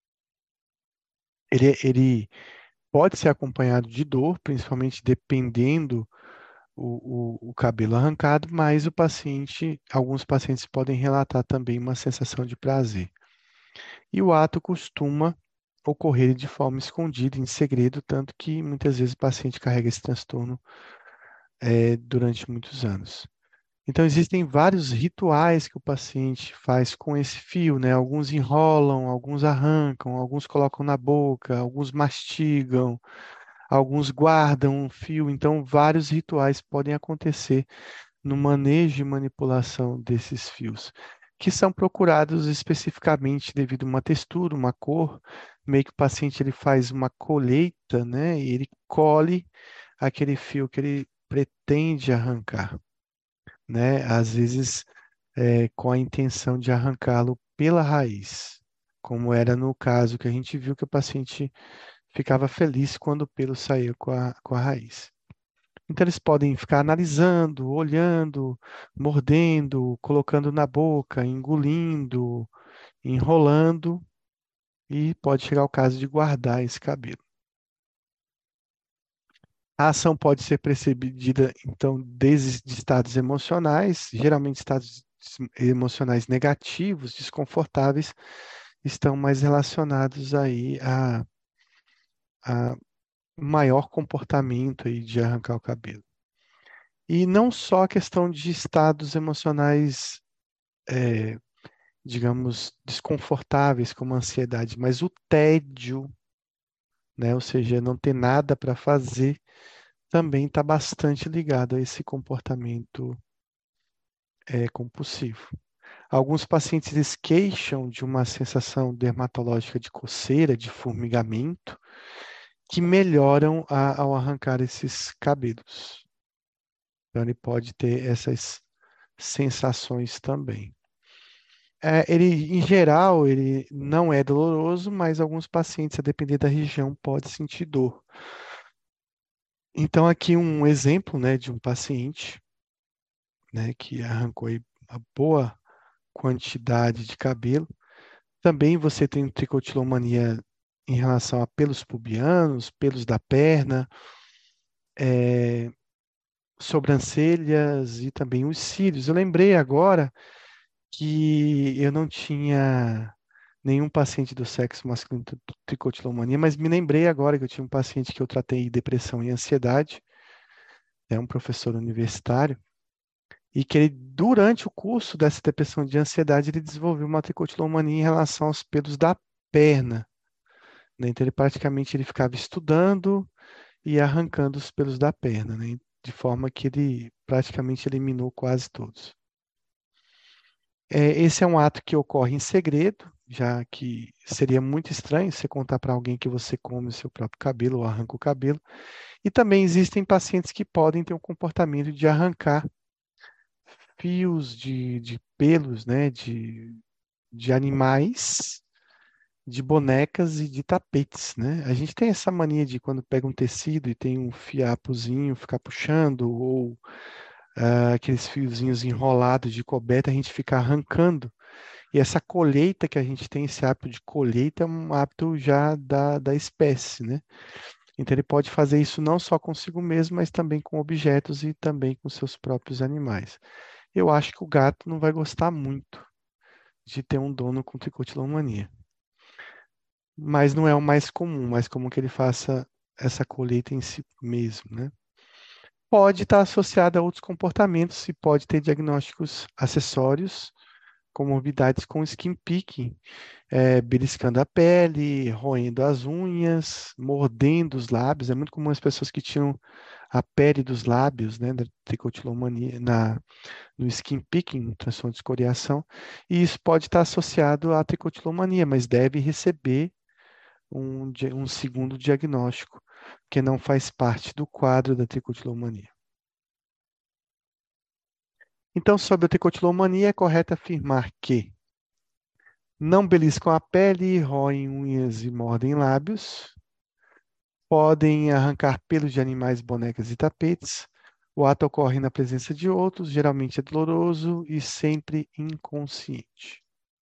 Ele pode ser acompanhado de dor, principalmente dependendo o cabelo arrancado, mas alguns pacientes podem relatar também uma sensação de prazer. E o ato costuma ocorrer de forma escondida, em segredo, tanto que muitas vezes o paciente carrega esse transtorno durante muitos anos. Então, existem vários rituais que o paciente faz com esse fio, né? Alguns enrolam, alguns arrancam, alguns colocam na boca, alguns mastigam, alguns guardam um fio. Então, vários rituais podem acontecer no manejo e manipulação desses fios, que são procurados especificamente devido a uma textura, uma cor, meio que o paciente ele faz uma colheita, né? E ele colhe aquele fio que ele pretende arrancar, né? Às vezes com a intenção de arrancá-lo pela raiz, como era no caso que a gente viu que o paciente ficava feliz quando o pelo saía com a raiz. Então, eles podem ficar analisando, olhando, mordendo, colocando na boca, engolindo, enrolando, e pode chegar ao caso de guardar esse cabelo. A ação pode ser precedida, então, desde de estados emocionais, geralmente estados emocionais negativos, desconfortáveis, estão mais relacionados aí a maior comportamento aí de arrancar o cabelo. E não só a questão de estados emocionais, é, digamos, desconfortáveis, como a ansiedade, mas o tédio, né? Ou seja, não ter nada para fazer, também está bastante ligado a esse comportamento compulsivo. Alguns pacientes eles queixam de uma sensação dermatológica de coceira, de formigamento, que melhoram ao arrancar esses cabelos. Então, ele pode ter essas sensações também. Em geral, ele não é doloroso, mas alguns pacientes, a depender da região, pode sentir dor. Então, aqui um exemplo, né, de um paciente, né, que arrancou aí uma boa quantidade de cabelo. Também você tem tricotilomania em relação a pelos pubianos, pelos da perna, é, sobrancelhas e também os cílios. Eu lembrei agora que eu não tinha nenhum paciente do sexo masculino com tricotilomania, mas me lembrei agora que eu tinha um paciente que eu tratei de depressão e ansiedade, é um professor universitário, e que ele, durante o curso dessa depressão de ansiedade, ele desenvolveu uma tricotilomania em relação aos pelos da perna, né? Então, ele praticamente ele ficava estudando e arrancando os pelos da perna, né? De forma que ele praticamente eliminou quase todos. Esse é um ato que ocorre em segredo, já que seria muito estranho você contar para alguém que você come o seu próprio cabelo ou arranca o cabelo. E também existem pacientes que podem ter um comportamento de arrancar fios de pelos, né, de animais, de bonecas e de tapetes, né? A gente tem essa mania de quando pega um tecido e tem um fiapozinho, ficar puxando, ou aqueles fiozinhos enrolados de coberta, a gente fica arrancando. E essa colheita que a gente tem, esse hábito de colheita, é um hábito já da espécie, né? Então ele pode fazer isso não só consigo mesmo, mas também com objetos e também com seus próprios animais. Eu acho que o gato não vai gostar muito de ter um dono com tricotilomania. Mas não é o mais comum que ele faça essa colheita em si mesmo, né? Pode estar associado a outros comportamentos e pode ter diagnósticos acessórios, comorbidades com skin picking, beliscando a pele, roendo as unhas, mordendo os lábios. É muito comum as pessoas que tinham a pele dos lábios, né, da tricotilomania, no skin picking, no transtorno de escoriação, e isso pode estar associado à tricotilomania, mas deve receber um segundo diagnóstico, que não faz parte do quadro da tricotilomania. Então, sobre a tricotilomania, é correto afirmar que Não beliscam a pele, roem unhas e mordem lábios. Podem arrancar pelos de animais, bonecas e tapetes. O ato ocorre na presença de outros, geralmente é doloroso e sempre inconsciente.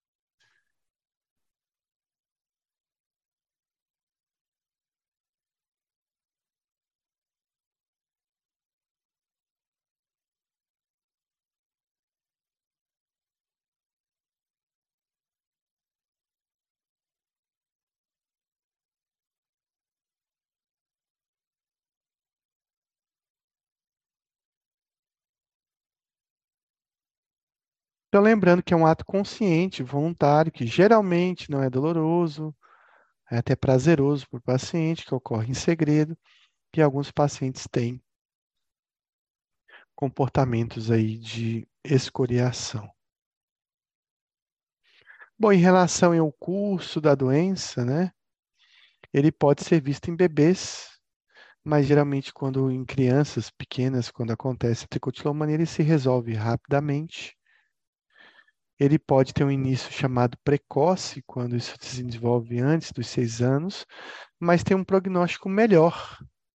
Então, lembrando que é um ato consciente, voluntário, que geralmente não é doloroso, é até prazeroso para o paciente, que ocorre em segredo, e alguns pacientes têm comportamentos aí de escoriação. Bom, em relação ao curso da doença, né, ele pode ser visto em bebês, mas geralmente quando em crianças pequenas, quando acontece a tricotilomania, ele se resolve rapidamente. Ele pode ter um início chamado precoce, quando isso se desenvolve antes dos 6 anos, mas tem um prognóstico melhor,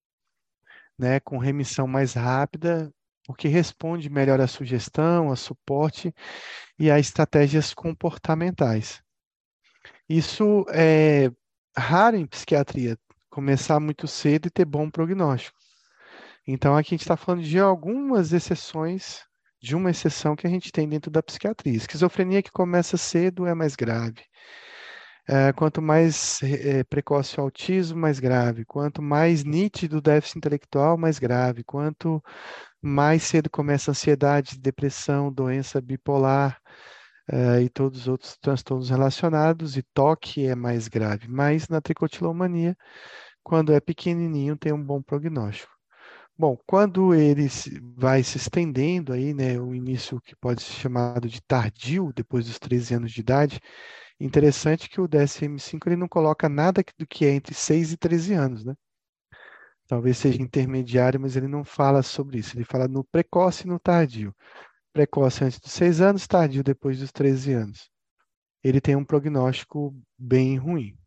né, com remissão mais rápida, porque responde melhor à sugestão, a suporte e a estratégias comportamentais. Isso é raro em psiquiatria, começar muito cedo e ter bom prognóstico. Então, aqui a gente está falando de algumas exceções, de uma exceção que a gente tem dentro da psiquiatria. Esquizofrenia que começa cedo é mais grave. Quanto mais precoce o autismo, mais grave. Quanto mais nítido o déficit intelectual, mais grave. Quanto mais cedo começa a ansiedade, depressão, doença bipolar, e todos os outros transtornos relacionados, e toque é mais grave. Mas na tricotilomania, quando é pequenininho, tem um bom prognóstico. Bom, quando ele vai se estendendo aí, né, o início que pode ser chamado de tardio, depois dos 13 anos de idade, interessante que o DSM-5 ele não coloca nada do que é entre 6 e 13 anos, né? Talvez seja intermediário, mas ele não fala sobre isso. Ele fala no precoce e no tardio. Precoce antes dos 6 anos, tardio depois dos 13 anos. Ele tem um prognóstico bem ruim.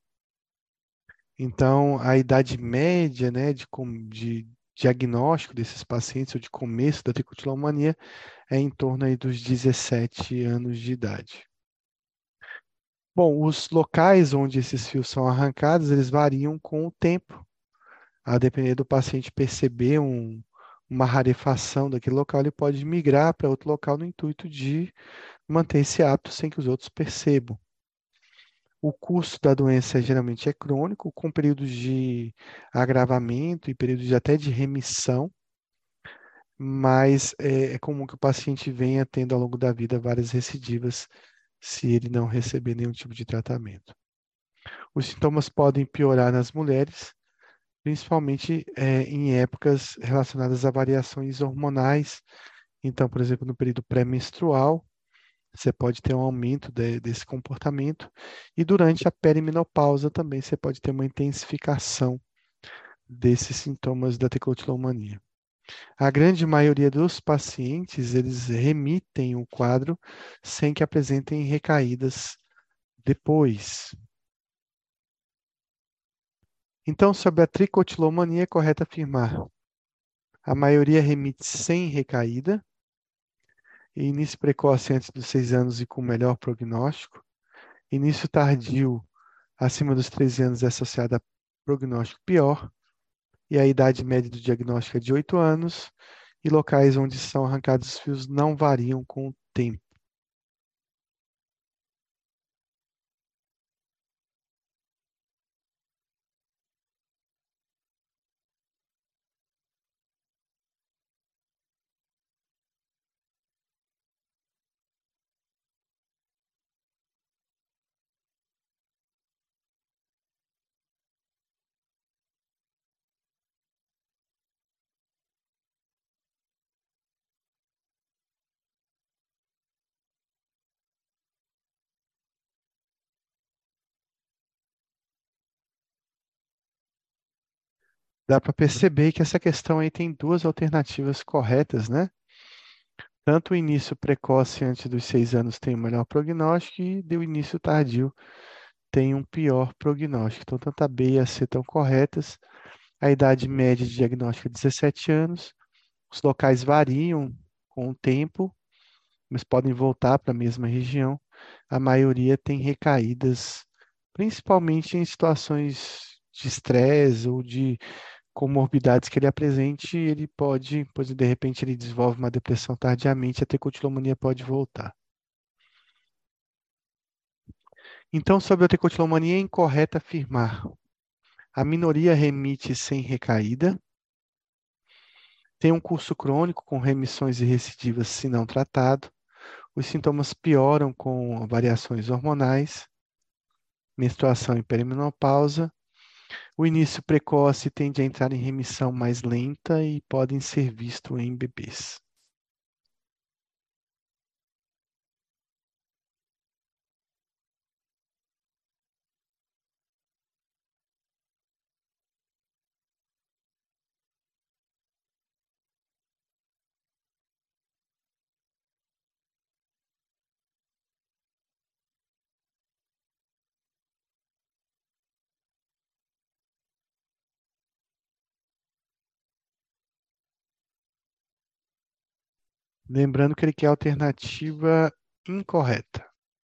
Então, a idade média, né, de diagnóstico desses pacientes, ou de começo da tricotilomania, é em torno aí dos 17 anos de idade. Bom, os locais onde esses fios são arrancados, eles variam com o tempo, a depender do paciente perceber uma rarefação daquele local, ele pode migrar para outro local no intuito de manter esse hábito sem que os outros percebam. O curso da doença geralmente é crônico, com períodos de agravamento e períodos até de remissão, mas é comum que o paciente venha tendo ao longo da vida várias recidivas se ele não receber nenhum tipo de tratamento. Os sintomas podem piorar nas mulheres, principalmente em épocas relacionadas a variações hormonais. Então, por exemplo, no período pré-menstrual, você pode ter um aumento desse comportamento, e durante a perimenopausa também você pode ter uma intensificação desses sintomas da tricotilomania. A grande maioria dos pacientes, eles remitem o quadro sem que apresentem recaídas depois. Então, sobre a tricotilomania, é correto afirmar: a maioria remite sem recaída, e início precoce antes dos 6 anos e com melhor prognóstico. Início tardio acima dos 13 anos é associado a prognóstico pior, e a idade média do diagnóstico é de 8 anos, e locais onde são arrancados os fios não variam com o tempo. Dá para perceber que essa questão aí tem duas alternativas corretas, né? Tanto o início precoce antes dos 6 anos tem o melhor prognóstico e o início tardio tem um pior prognóstico. Então, tanto a B e a C estão corretas. A idade média de diagnóstico é 17 anos. Os locais variam com o tempo, mas podem voltar para a mesma região. A maioria tem recaídas, principalmente em situações de estresse ou de comorbidades que ele apresente, ele pode, pois de repente ele desenvolve uma depressão tardiamente, a tricotilomania pode voltar. Então, sobre a tricotilomania, é incorreto afirmar. A minoria remite sem recaída, tem um curso crônico com remissões e recidivas se não tratado, os sintomas pioram com variações hormonais, menstruação e perimenopausa. O início precoce tende a entrar em remissão mais lenta e podem ser vistos em bebês. Lembrando que ele quer a alternativa incorreta.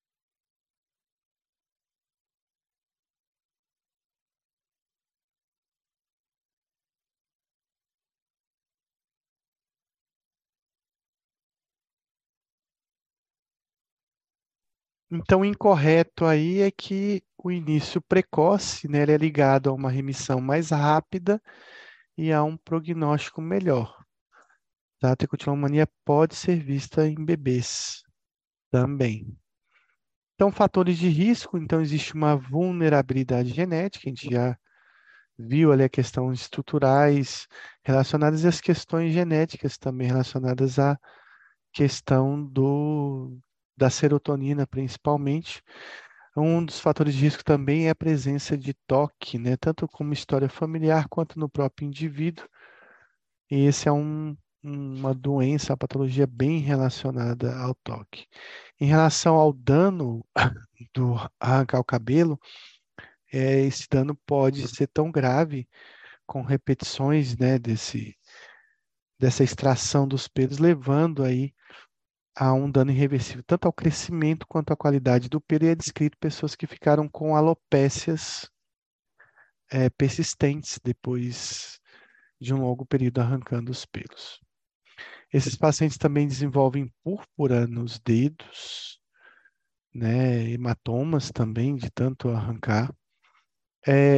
Então, o incorreto aí é que o início precoce, né, ele é ligado a uma remissão mais rápida e a um prognóstico melhor. Tá? A tricotilomania pode ser vista em bebês também. Então, fatores de risco, então existe uma vulnerabilidade genética, a gente já viu ali a questão estruturais relacionadas e as questões genéticas também relacionadas à questão da serotonina, principalmente. Um dos fatores de risco também é a presença de toque, né? Tanto como história familiar quanto no próprio indivíduo. E esse é uma doença, uma patologia bem relacionada ao toque. Em relação ao dano do arrancar o cabelo, esse dano pode ser tão grave com repetições, né, dessa extração dos pelos, levando aí a um dano irreversível, tanto ao crescimento quanto à qualidade do pelo, e é descrito pessoas que ficaram com alopécias persistentes depois de um longo período arrancando os pelos. Esses pacientes também desenvolvem púrpura nos dedos, né, hematomas também de tanto arrancar. É,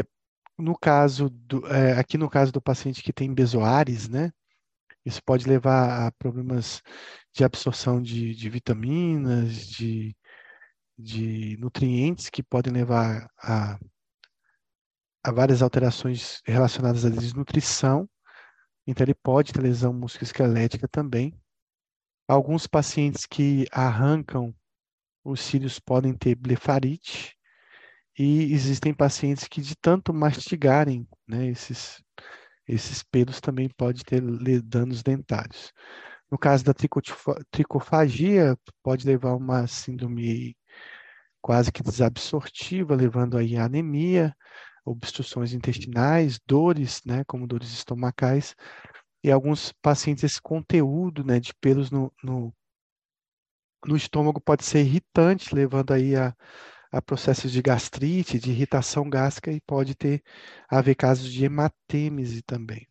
aqui no caso do paciente que tem bezoares, né, isso pode levar a problemas de absorção de vitaminas, de nutrientes que podem levar a várias alterações relacionadas à desnutrição. Então, ele pode ter lesão musculoesquelética também. Alguns pacientes que arrancam os cílios podem ter blefarite. E existem pacientes que, de tanto mastigarem, né, esses pelos, também pode ter danos dentários. No caso da tricofagia, pode levar a uma síndrome quase que desabsortiva, levando aí a anemia, obstruções intestinais, dores, né, como dores estomacais, e alguns pacientes esse conteúdo, né, de pelos no estômago pode ser irritante, levando aí a processos de gastrite, de irritação gástrica e pode haver casos de hematêmese também.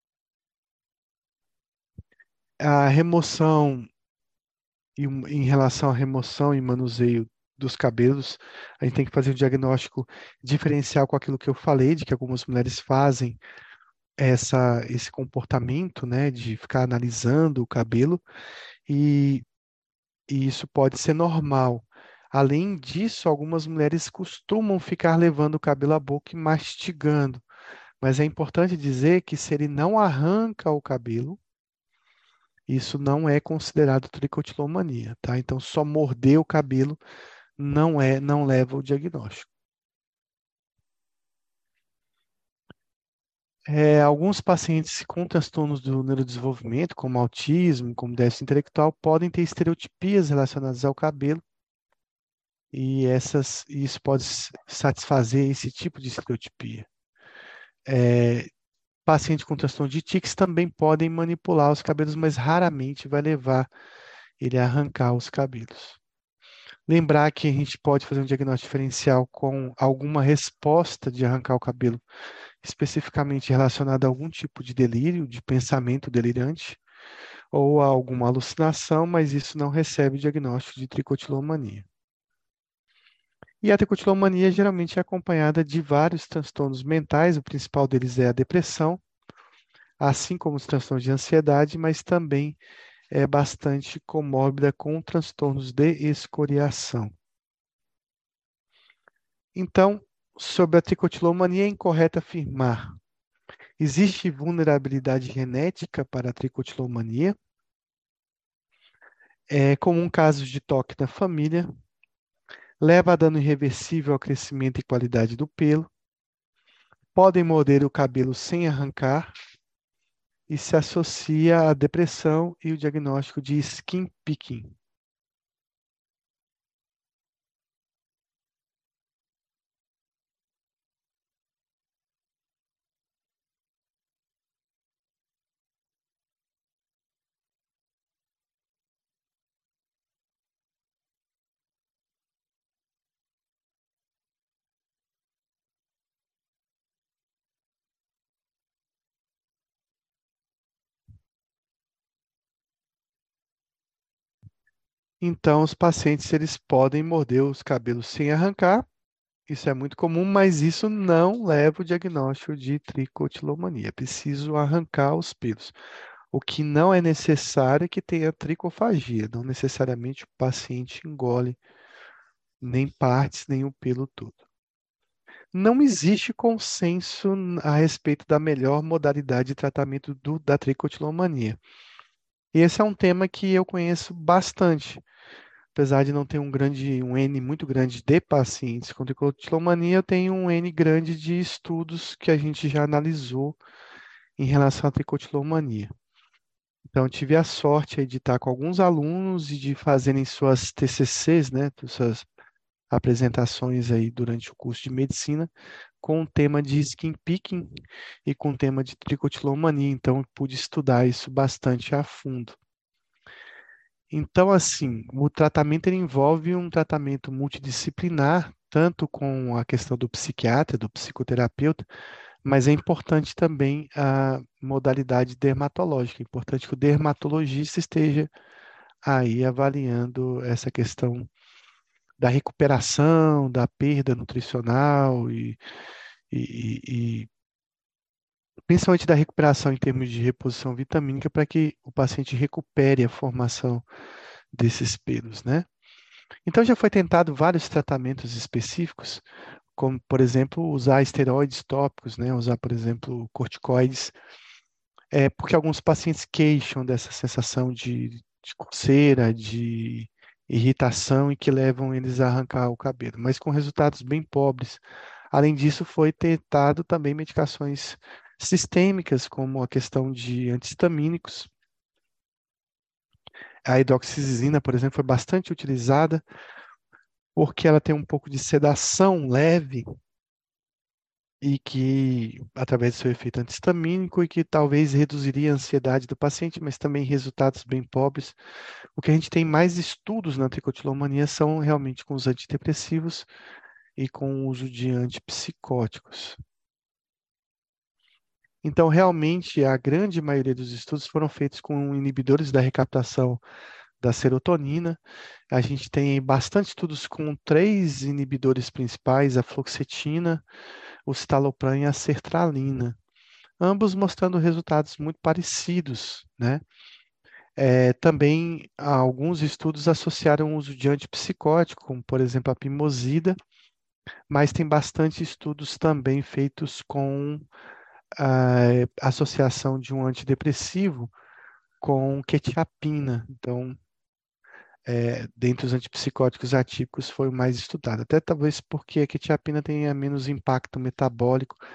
A remoção, em relação à remoção e manuseio dos cabelos, a gente tem que fazer um diagnóstico diferencial com aquilo que eu falei, de que algumas mulheres fazem esse comportamento, né, de ficar analisando o cabelo, e, e isso pode ser normal. Além disso, algumas mulheres costumam ficar levando o cabelo à boca e mastigando, mas é importante dizer que se ele não arranca o cabelo, isso não é considerado tricotilomania, tá? Então, só morder o cabelo não leva ao diagnóstico. Alguns pacientes com transtornos do neurodesenvolvimento, como autismo, como déficit intelectual, podem ter estereotipias relacionadas ao cabelo, e isso pode satisfazer esse tipo de estereotipia. É, Pacientes com transtorno de tics também podem manipular os cabelos, mas raramente vai levar ele a arrancar os cabelos. Lembrar que a gente pode fazer um diagnóstico diferencial com alguma resposta de arrancar o cabelo, especificamente relacionada a algum tipo de delírio, de pensamento delirante, ou a alguma alucinação, mas isso não recebe o diagnóstico de tricotilomania. E a tricotilomania geralmente é acompanhada de vários transtornos mentais, o principal deles é a depressão, assim como os transtornos de ansiedade, mas também é bastante comórbida com transtornos de escoriação. Então, sobre a tricotilomania, é incorreto afirmar: existe vulnerabilidade genética para a tricotilomania? É comum casos de toque na família, leva a dano irreversível ao crescimento e qualidade do pelo, podem morder o cabelo sem arrancar e se associa à depressão e o diagnóstico de skin picking. Então, os pacientes eles podem morder os cabelos sem arrancar. Isso é muito comum, mas isso não leva o diagnóstico de tricotilomania. É preciso arrancar os pelos. O que não é necessário é que tenha tricofagia. Não necessariamente o paciente engole nem partes, nem o pelo todo. Não existe consenso a respeito da melhor modalidade de tratamento da tricotilomania. E esse é um tema que eu conheço bastante. Apesar de não ter um N muito grande de pacientes com tricotilomania, eu tenho um N grande de estudos que a gente já analisou em relação à tricotilomania. Então, eu tive a sorte aí de estar com alguns alunos e de fazerem suas TCCs, né, suas apresentações aí durante o curso de medicina, com o tema de skin picking e com o tema de tricotilomania. Então, eu pude estudar isso bastante a fundo. Então, assim, o tratamento ele envolve um tratamento multidisciplinar, tanto com a questão do psiquiatra, do psicoterapeuta, mas é importante também a modalidade dermatológica. É importante que o dermatologista esteja aí avaliando essa questão da recuperação, da perda nutricional e principalmente da recuperação em termos de reposição vitamínica para que o paciente recupere a formação desses pelos, né? Então já foi tentado vários tratamentos específicos, como, por exemplo, usar esteroides tópicos, né? Usar, por exemplo, corticoides, porque alguns pacientes queixam dessa sensação de coceira, de irritação e que levam eles a arrancar o cabelo, mas com resultados bem pobres. Além disso, foi tentado também medicações sistêmicas, como a questão de anti-histamínicos. A hidroxizina, por exemplo, foi bastante utilizada porque ela tem um pouco de sedação leve e que, através do seu efeito anti-histamínico, e que talvez reduziria a ansiedade do paciente, mas também resultados bem pobres. O que a gente tem mais estudos na tricotilomania são realmente com os antidepressivos e com o uso de antipsicóticos. Então, realmente, a grande maioria dos estudos foram feitos com inibidores da recaptação da serotonina. A gente tem bastante estudos com três inibidores principais, a fluoxetina, o citalopram e a sertralina, ambos mostrando resultados muito parecidos, né? Também alguns estudos associaram o uso de antipsicótico, como por exemplo a pimosida, mas tem bastante estudos também feitos com a associação de um antidepressivo com quetiapina. Então, dentre os antipsicóticos atípicos foi o mais estudado. Até talvez porque a quetiapina tenha menos impacto metabólico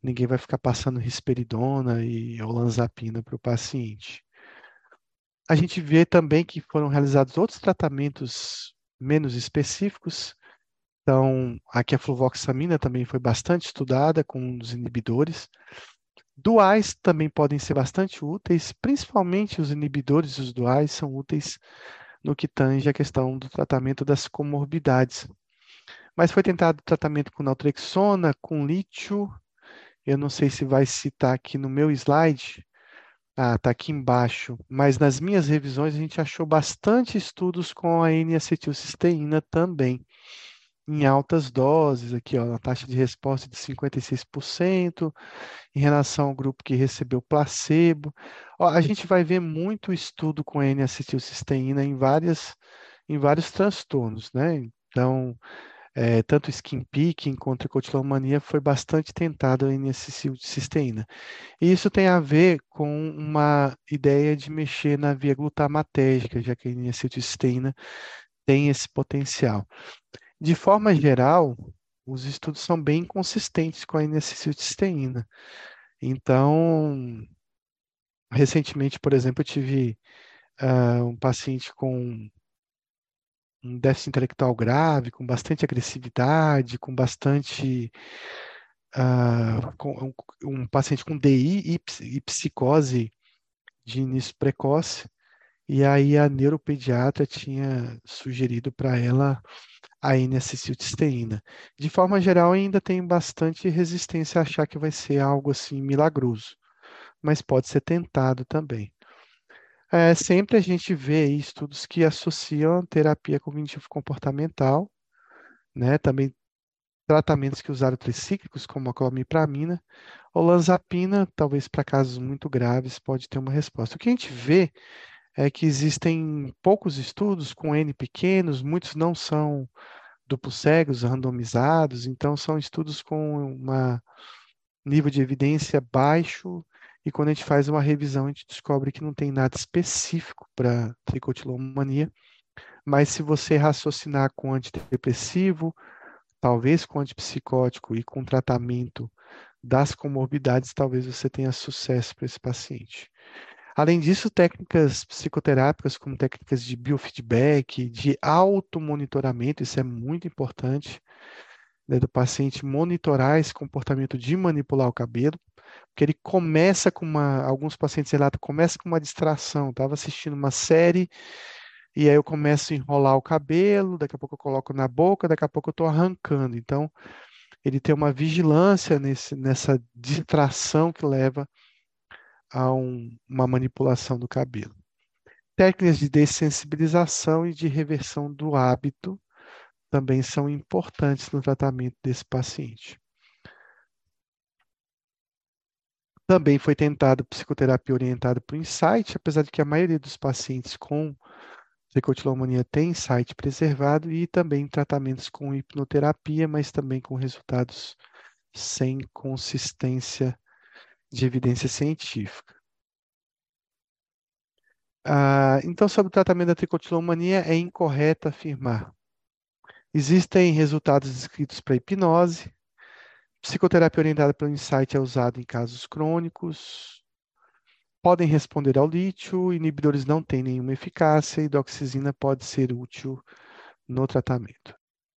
ninguém vai ficar passando risperidona e olanzapina para o paciente. A gente vê também que foram realizados outros tratamentos menos específicos. Então, aqui a fluvoxamina também foi bastante estudada com os inibidores. Duais também podem ser bastante úteis, principalmente os inibidores dos duais são úteis no que tange a questão do tratamento das comorbidades. Mas foi tentado tratamento com naltrexona, com lítio. Eu não sei se vai citar aqui no meu slide. Ah, está aqui embaixo. Mas nas minhas revisões a gente achou bastante estudos com a N-acetilcisteína também, em altas doses, aqui, ó, a taxa de resposta de 56%, em relação ao grupo que recebeu placebo. Ó, a gente vai ver muito estudo com N-acetilcisteína em vários transtornos, né? Então, tanto skin picking quanto tricotilomania foi bastante tentado a N-acetilcisteína. E isso tem a ver com uma ideia de mexer na via glutamatérgica, já que a N-acetilcisteína tem esse potencial. De forma geral, os estudos são bem consistentes com a N-acetilcisteína. Então, recentemente, por exemplo, eu tive um paciente com um déficit intelectual grave, com bastante agressividade, com bastante um paciente com DI e psicose de início precoce, e aí a neuropediatra tinha sugerido para ela a N-acetilcisteína. De forma geral, ainda tem bastante resistência a achar que vai ser algo assim milagroso, mas pode ser tentado também. Sempre a gente vê aí estudos que associam terapia cognitivo-comportamental, né? Também tratamentos que usaram tricíclicos, como a clomipramina. Olanzapina, talvez para casos muito graves, pode ter uma resposta. O que a gente vê é que existem poucos estudos com N pequenos, muitos não são duplos cegos, randomizados, então são estudos com um nível de evidência baixo, e quando a gente faz uma revisão, a gente descobre que não tem nada específico para tricotilomania, mas se você raciocinar com antidepressivo, talvez com antipsicótico e com tratamento das comorbidades, talvez você tenha sucesso para esse paciente. Além disso, técnicas psicoterápicas, como técnicas de biofeedback, de automonitoramento, isso é muito importante, né, do paciente monitorar esse comportamento de manipular o cabelo, porque ele começa com alguns pacientes relatam, começa com uma distração, estava assistindo uma série, e aí eu começo a enrolar o cabelo, daqui a pouco eu coloco na boca, daqui a pouco eu estou arrancando. Então, ele tem uma vigilância nessa distração que leva a uma manipulação do cabelo. Técnicas de dessensibilização e de reversão do hábito também são importantes no tratamento desse paciente. Também foi tentado psicoterapia orientada para o insight, apesar de que a maioria dos pacientes com tricotilomania tem insight preservado, e também tratamentos com hipnoterapia, mas também com resultados sem consistência de evidência científica. Então, sobre o tratamento da tricotilomania, é incorreto afirmar. Existem resultados descritos para hipnose. Psicoterapia orientada pelo insight é usada em casos crônicos. Podem responder ao lítio. Inibidores não têm nenhuma eficácia. E doxizina pode ser útil no tratamento.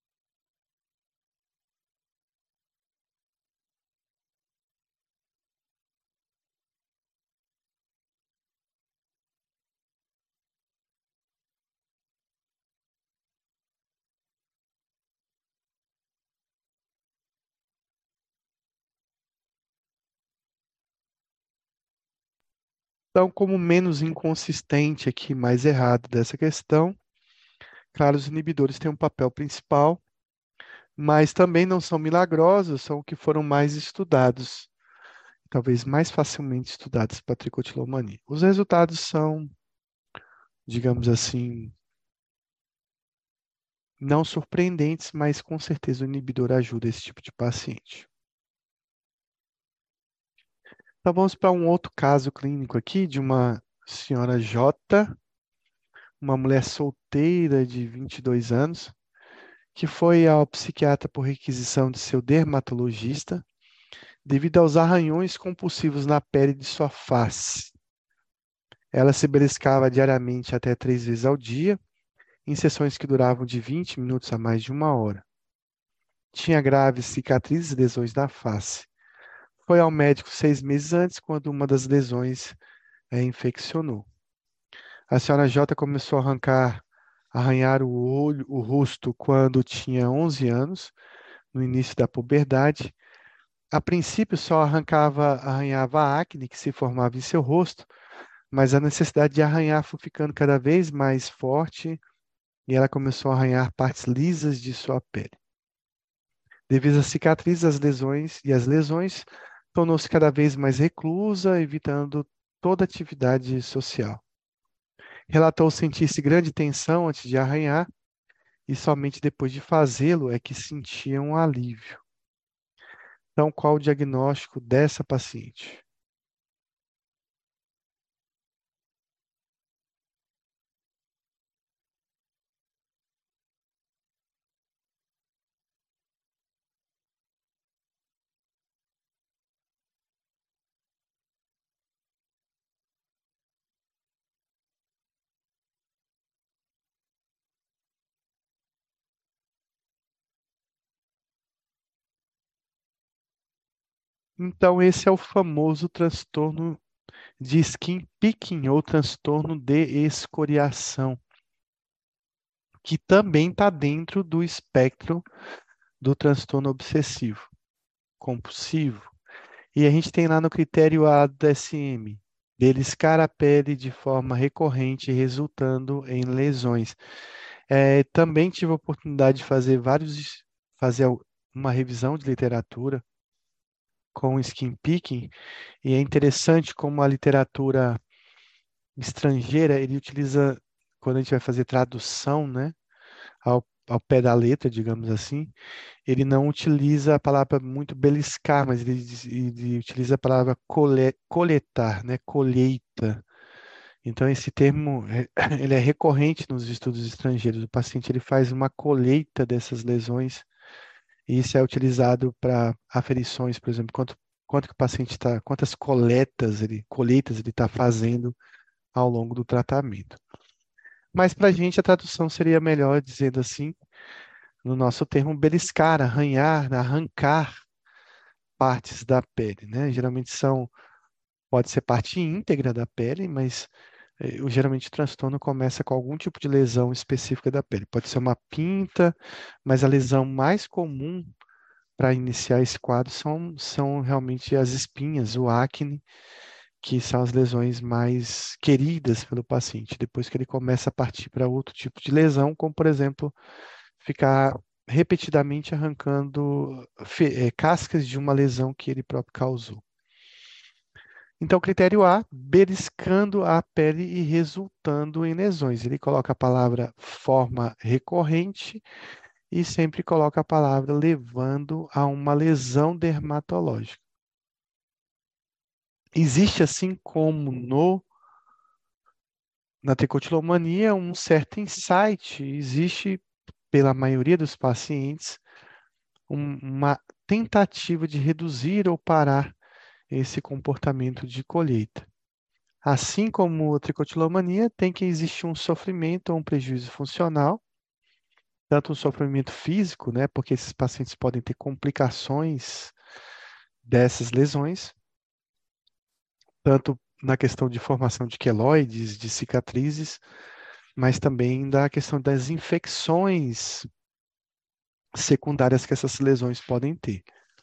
Então, como menos inconsistente aqui, mais errado dessa questão, claro, os inibidores têm um papel principal, mas também não são milagrosos, são o que foram mais estudados, talvez mais facilmente estudados para tricotilomania. Os resultados são, digamos assim, não surpreendentes, mas com certeza o inibidor ajuda esse tipo de paciente. Então vamos para um outro caso clínico aqui de uma senhora J, uma mulher solteira de 22 anos, que foi ao psiquiatra por requisição de seu dermatologista devido aos arranhões compulsivos na pele de sua face. Ela se beliscava diariamente até 3 vezes ao dia, em sessões que duravam de 20 minutos a mais de 1 hora. Tinha graves cicatrizes e lesões na face. Foi ao médico 6 meses antes, quando uma das lesões infeccionou. A senhora J começou a arranhar o olho, o rosto quando tinha 11 anos, no início da puberdade. A princípio só arranhava a acne que se formava em seu rosto, mas a necessidade de arranhar foi ficando cada vez mais forte e ela começou a arranhar partes lisas de sua pele. Devido às cicatrizes, as lesões, tornou-se cada vez mais reclusa, evitando toda atividade social. Relatou sentir-se grande tensão antes de arranhar e somente depois de fazê-lo é que sentia um alívio. Então, qual o diagnóstico dessa paciente? Então, esse é o famoso transtorno de skin picking ou transtorno de escoriação, que também está dentro do espectro do transtorno obsessivo compulsivo. E a gente tem lá no critério A do DSM, beliscar a pele de forma recorrente, resultando em lesões. Também tive a oportunidade de fazer uma revisão de literatura com skin picking, e é interessante como a literatura estrangeira, ele utiliza, quando a gente vai fazer tradução, né, ao pé da letra, digamos assim, ele não utiliza a palavra muito beliscar, mas ele utiliza a palavra coletar, né, colheita. Então, esse termo, ele é recorrente nos estudos estrangeiros. O paciente ele faz uma colheita dessas lesões e isso é utilizado para aferições, por exemplo, quanto que o paciente está, quantas colheitas ele está fazendo ao longo do tratamento. Mas para a gente a tradução seria melhor dizendo assim, no nosso termo, beliscar, arranhar, arrancar partes da pele, né? Geralmente pode ser parte íntegra da pele, mas geralmente o transtorno começa com algum tipo de lesão específica da pele. Pode ser uma pinta, mas a lesão mais comum para iniciar esse quadro são realmente as espinhas, o acne, que são as lesões mais queridas pelo paciente. Depois que ele começa a partir para outro tipo de lesão, como por exemplo, ficar repetidamente arrancando cascas de uma lesão que ele próprio causou. Então, critério A, beliscando a pele e resultando em lesões. Ele coloca a palavra forma recorrente e sempre coloca a palavra levando a uma lesão dermatológica. Existe, assim como na tricotilomania, um certo insight, existe, pela maioria dos pacientes, uma tentativa de reduzir ou parar esse comportamento de colheita. Assim como a tricotilomania, tem que existir um sofrimento ou um prejuízo funcional, tanto um sofrimento físico, né, porque esses pacientes podem ter complicações dessas lesões, tanto na questão de formação de queloides, de cicatrizes, mas também da questão das infecções secundárias que essas lesões podem ter.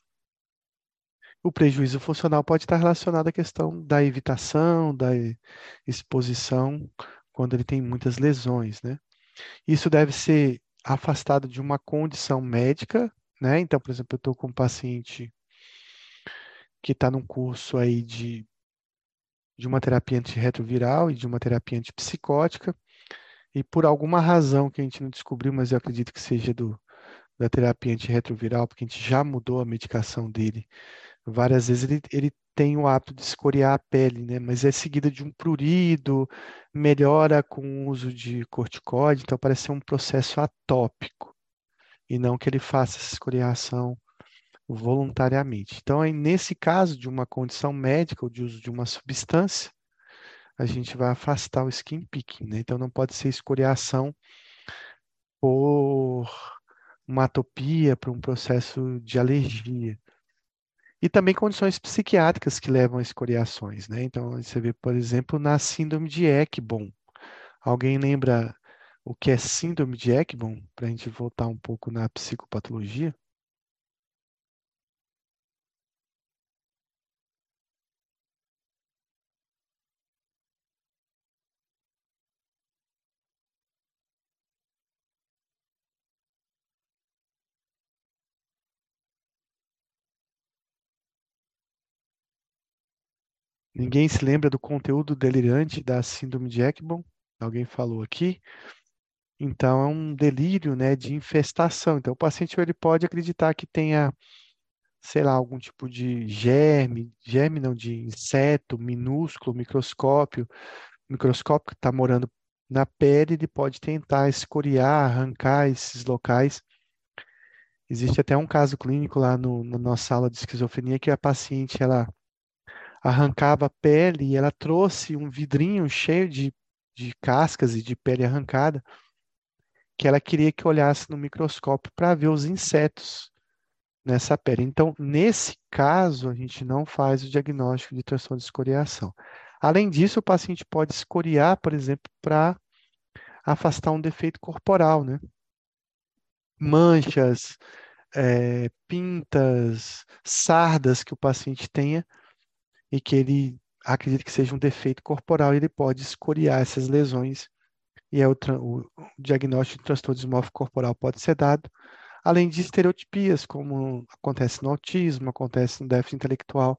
O prejuízo funcional pode estar relacionado à questão da evitação, da exposição, quando ele tem muitas lesões, né? Isso deve ser afastado de uma condição médica, né? Então, por exemplo, eu estou com um paciente que está num curso aí de uma terapia antirretroviral e de uma terapia antipsicótica, e por alguma razão que a gente não descobriu, mas eu acredito que seja da terapia antirretroviral, porque a gente já mudou a medicação dele várias vezes, ele tem o hábito de escoriar a pele, né? Mas é seguida de um prurido, melhora com o uso de corticoide, então parece ser um processo atópico, e não que ele faça essa escoriação voluntariamente. Então, aí, nesse caso de uma condição médica ou de uso de uma substância, a gente vai afastar o skin picking, né? Então, não pode ser escoriação por uma atopia, por um processo de alergia. E também condições psiquiátricas que levam a escoriações, né? Então, você vê, por exemplo, na síndrome de Ekbom. Alguém lembra o que é síndrome de Ekbom? Para a gente voltar um pouco na psicopatologia. Ninguém se lembra do conteúdo delirante da síndrome de Ekbom? Alguém falou aqui? Então, é um delírio, né, de infestação. Então, o paciente ele pode acreditar que tenha, sei lá, algum tipo de germe não, de inseto minúsculo, microscópio que está morando na pele, ele pode tentar escoriar, arrancar esses locais. Existe até um caso clínico lá na nossa sala de esquizofrenia que a paciente, ela arrancava a pele e ela trouxe um vidrinho cheio de cascas e de pele arrancada, que ela queria que olhasse no microscópio para ver os insetos nessa pele. Então, nesse caso, a gente não faz o diagnóstico de transtorno de escoriação. Além disso, o paciente pode escoriar, por exemplo, para afastar um defeito corporal, né? Manchas, pintas, sardas que o paciente tenha e que ele acredita que seja um defeito corporal, e ele pode escoriar essas lesões e o diagnóstico de transtorno dismórfico corporal pode ser dado, além de estereotipias, como acontece no autismo, acontece no déficit intelectual,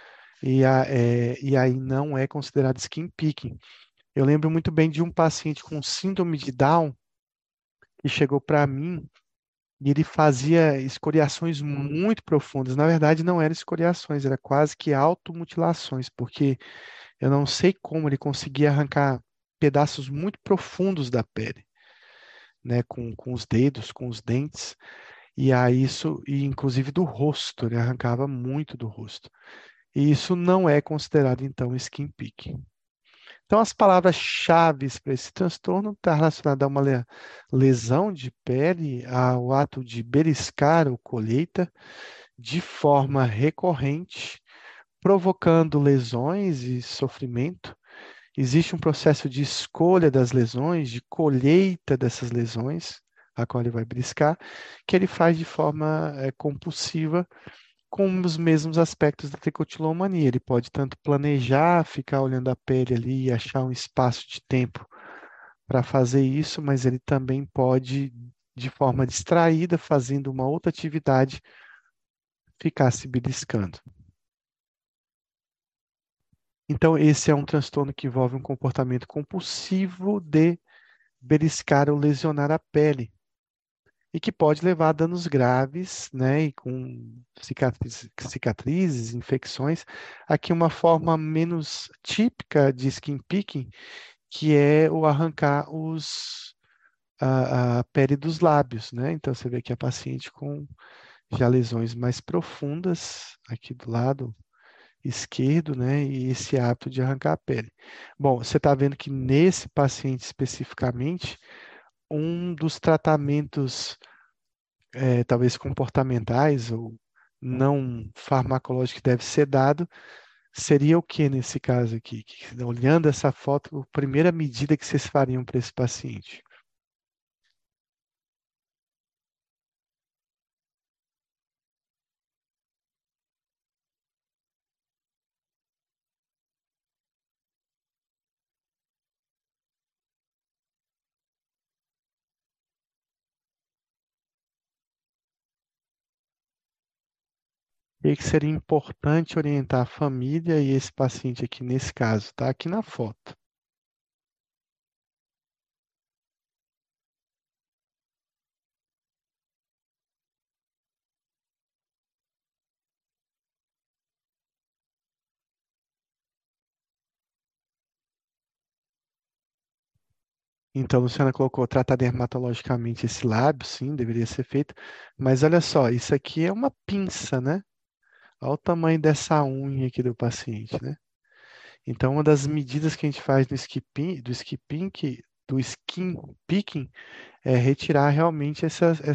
e aí não é considerado skin picking. Eu lembro muito bem de um paciente com síndrome de Down que chegou para mim e ele fazia escoriações muito profundas. Na verdade, não eram escoriações, era quase que automutilações, porque eu não sei como ele conseguia arrancar pedaços muito profundos da pele, né, com os dedos, com os dentes, e aí isso, e inclusive do rosto, ele arrancava muito do rosto. E isso não é considerado, então, skin picking. Então, as palavras-chave para esse transtorno estão relacionadas a uma lesão de pele, ao ato de beliscar ou colheita de forma recorrente, provocando lesões e sofrimento. Existe um processo de escolha das lesões, de colheita dessas lesões, a qual ele vai beliscar, que ele faz de forma compulsiva, com os mesmos aspectos da tricotilomania. Ele pode tanto planejar, ficar olhando a pele ali e achar um espaço de tempo para fazer isso, mas ele também pode, de forma distraída, fazendo uma outra atividade, ficar se beliscando. Então, esse é um transtorno que envolve um comportamento compulsivo de beliscar ou lesionar a pele e que pode levar a danos graves, né, e com cicatrizes, infecções. Aqui uma forma menos típica de skin picking, que é o arrancar a pele dos lábios, né? Então você vê aqui a paciente com já lesões mais profundas aqui do lado esquerdo, né? E esse hábito de arrancar a pele. Bom, você está vendo que nesse paciente especificamente, um dos tratamentos, talvez comportamentais ou não farmacológicos que deve ser dado, seria o que nesse caso aqui? Olhando essa foto, a primeira medida que vocês fariam para esse paciente? E que seria importante orientar a família e esse paciente aqui nesse caso, tá? Aqui na foto. Então, a Luciana colocou tratar dermatologicamente esse lábio, sim, deveria ser feito. Mas olha só, isso aqui é uma pinça, né? Olha o tamanho dessa unha aqui do paciente, né? Então, uma das medidas que a gente faz do skin picking é retirar realmente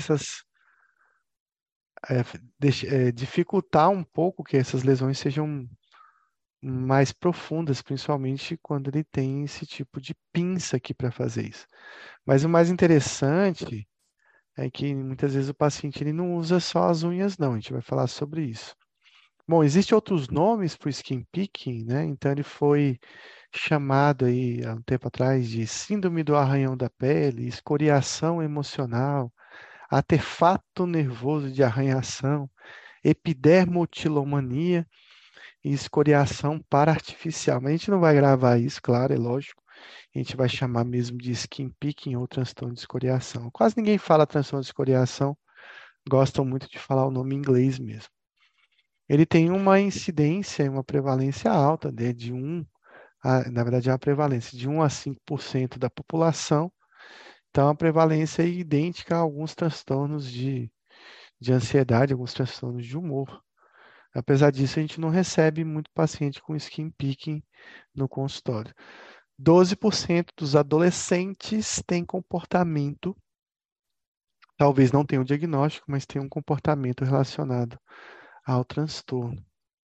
dificultar um pouco que essas lesões sejam mais profundas, principalmente quando ele tem esse tipo de pinça aqui para fazer isso. Mas o mais interessante é que muitas vezes o paciente ele não usa só as unhas, não. A gente vai falar sobre isso. Bom, existem outros nomes para o skin picking, né? Então ele foi chamado aí há um tempo atrás de síndrome do arranhão da pele, escoriação emocional, artefato nervoso de arranhação, epidermotilomania e escoriação para-artificial. Mas a gente não vai gravar isso, claro, é lógico. A gente vai chamar mesmo de skin picking ou transtorno de escoriação. Quase ninguém fala transtorno de escoriação, gostam muito de falar o nome em inglês mesmo. Ele tem uma incidência e uma prevalência alta, né, na verdade é uma prevalência de 1 a 5% da população. Então a prevalência é idêntica a alguns transtornos de ansiedade, alguns transtornos de humor. Apesar disso, a gente não recebe muito paciente com skin picking no consultório. 12% dos adolescentes têm comportamento, talvez não tenham diagnóstico, mas têm um comportamento relacionado ao transtorno.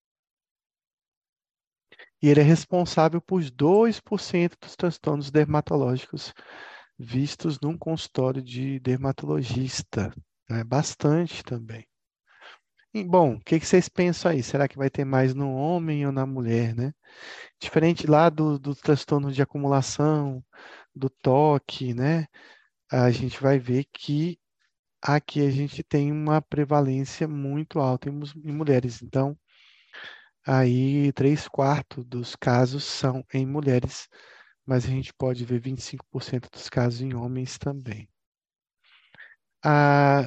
E ele é responsável por 2% dos transtornos dermatológicos vistos num consultório de dermatologista. É bastante também. E, bom, o que que vocês pensam aí? Será que vai ter mais no homem ou na mulher, né? Diferente lá do transtorno de acumulação, do toque, né? A gente vai ver que aqui a gente tem uma prevalência muito alta em mulheres. Então, aí 3/4 dos casos são em mulheres, mas a gente pode ver 25% dos casos em homens também. Ah,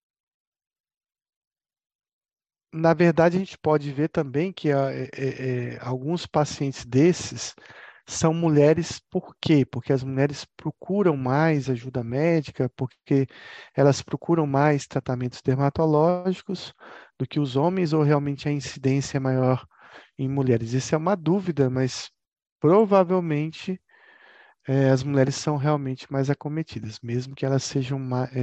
na verdade, a gente pode ver também que alguns pacientes desses são mulheres, por quê? Porque as mulheres procuram mais ajuda médica, porque elas procuram mais tratamentos dermatológicos do que os homens, ou realmente a incidência é maior em mulheres? Isso é uma dúvida, mas provavelmente as mulheres são realmente mais acometidas, mesmo que elas sejam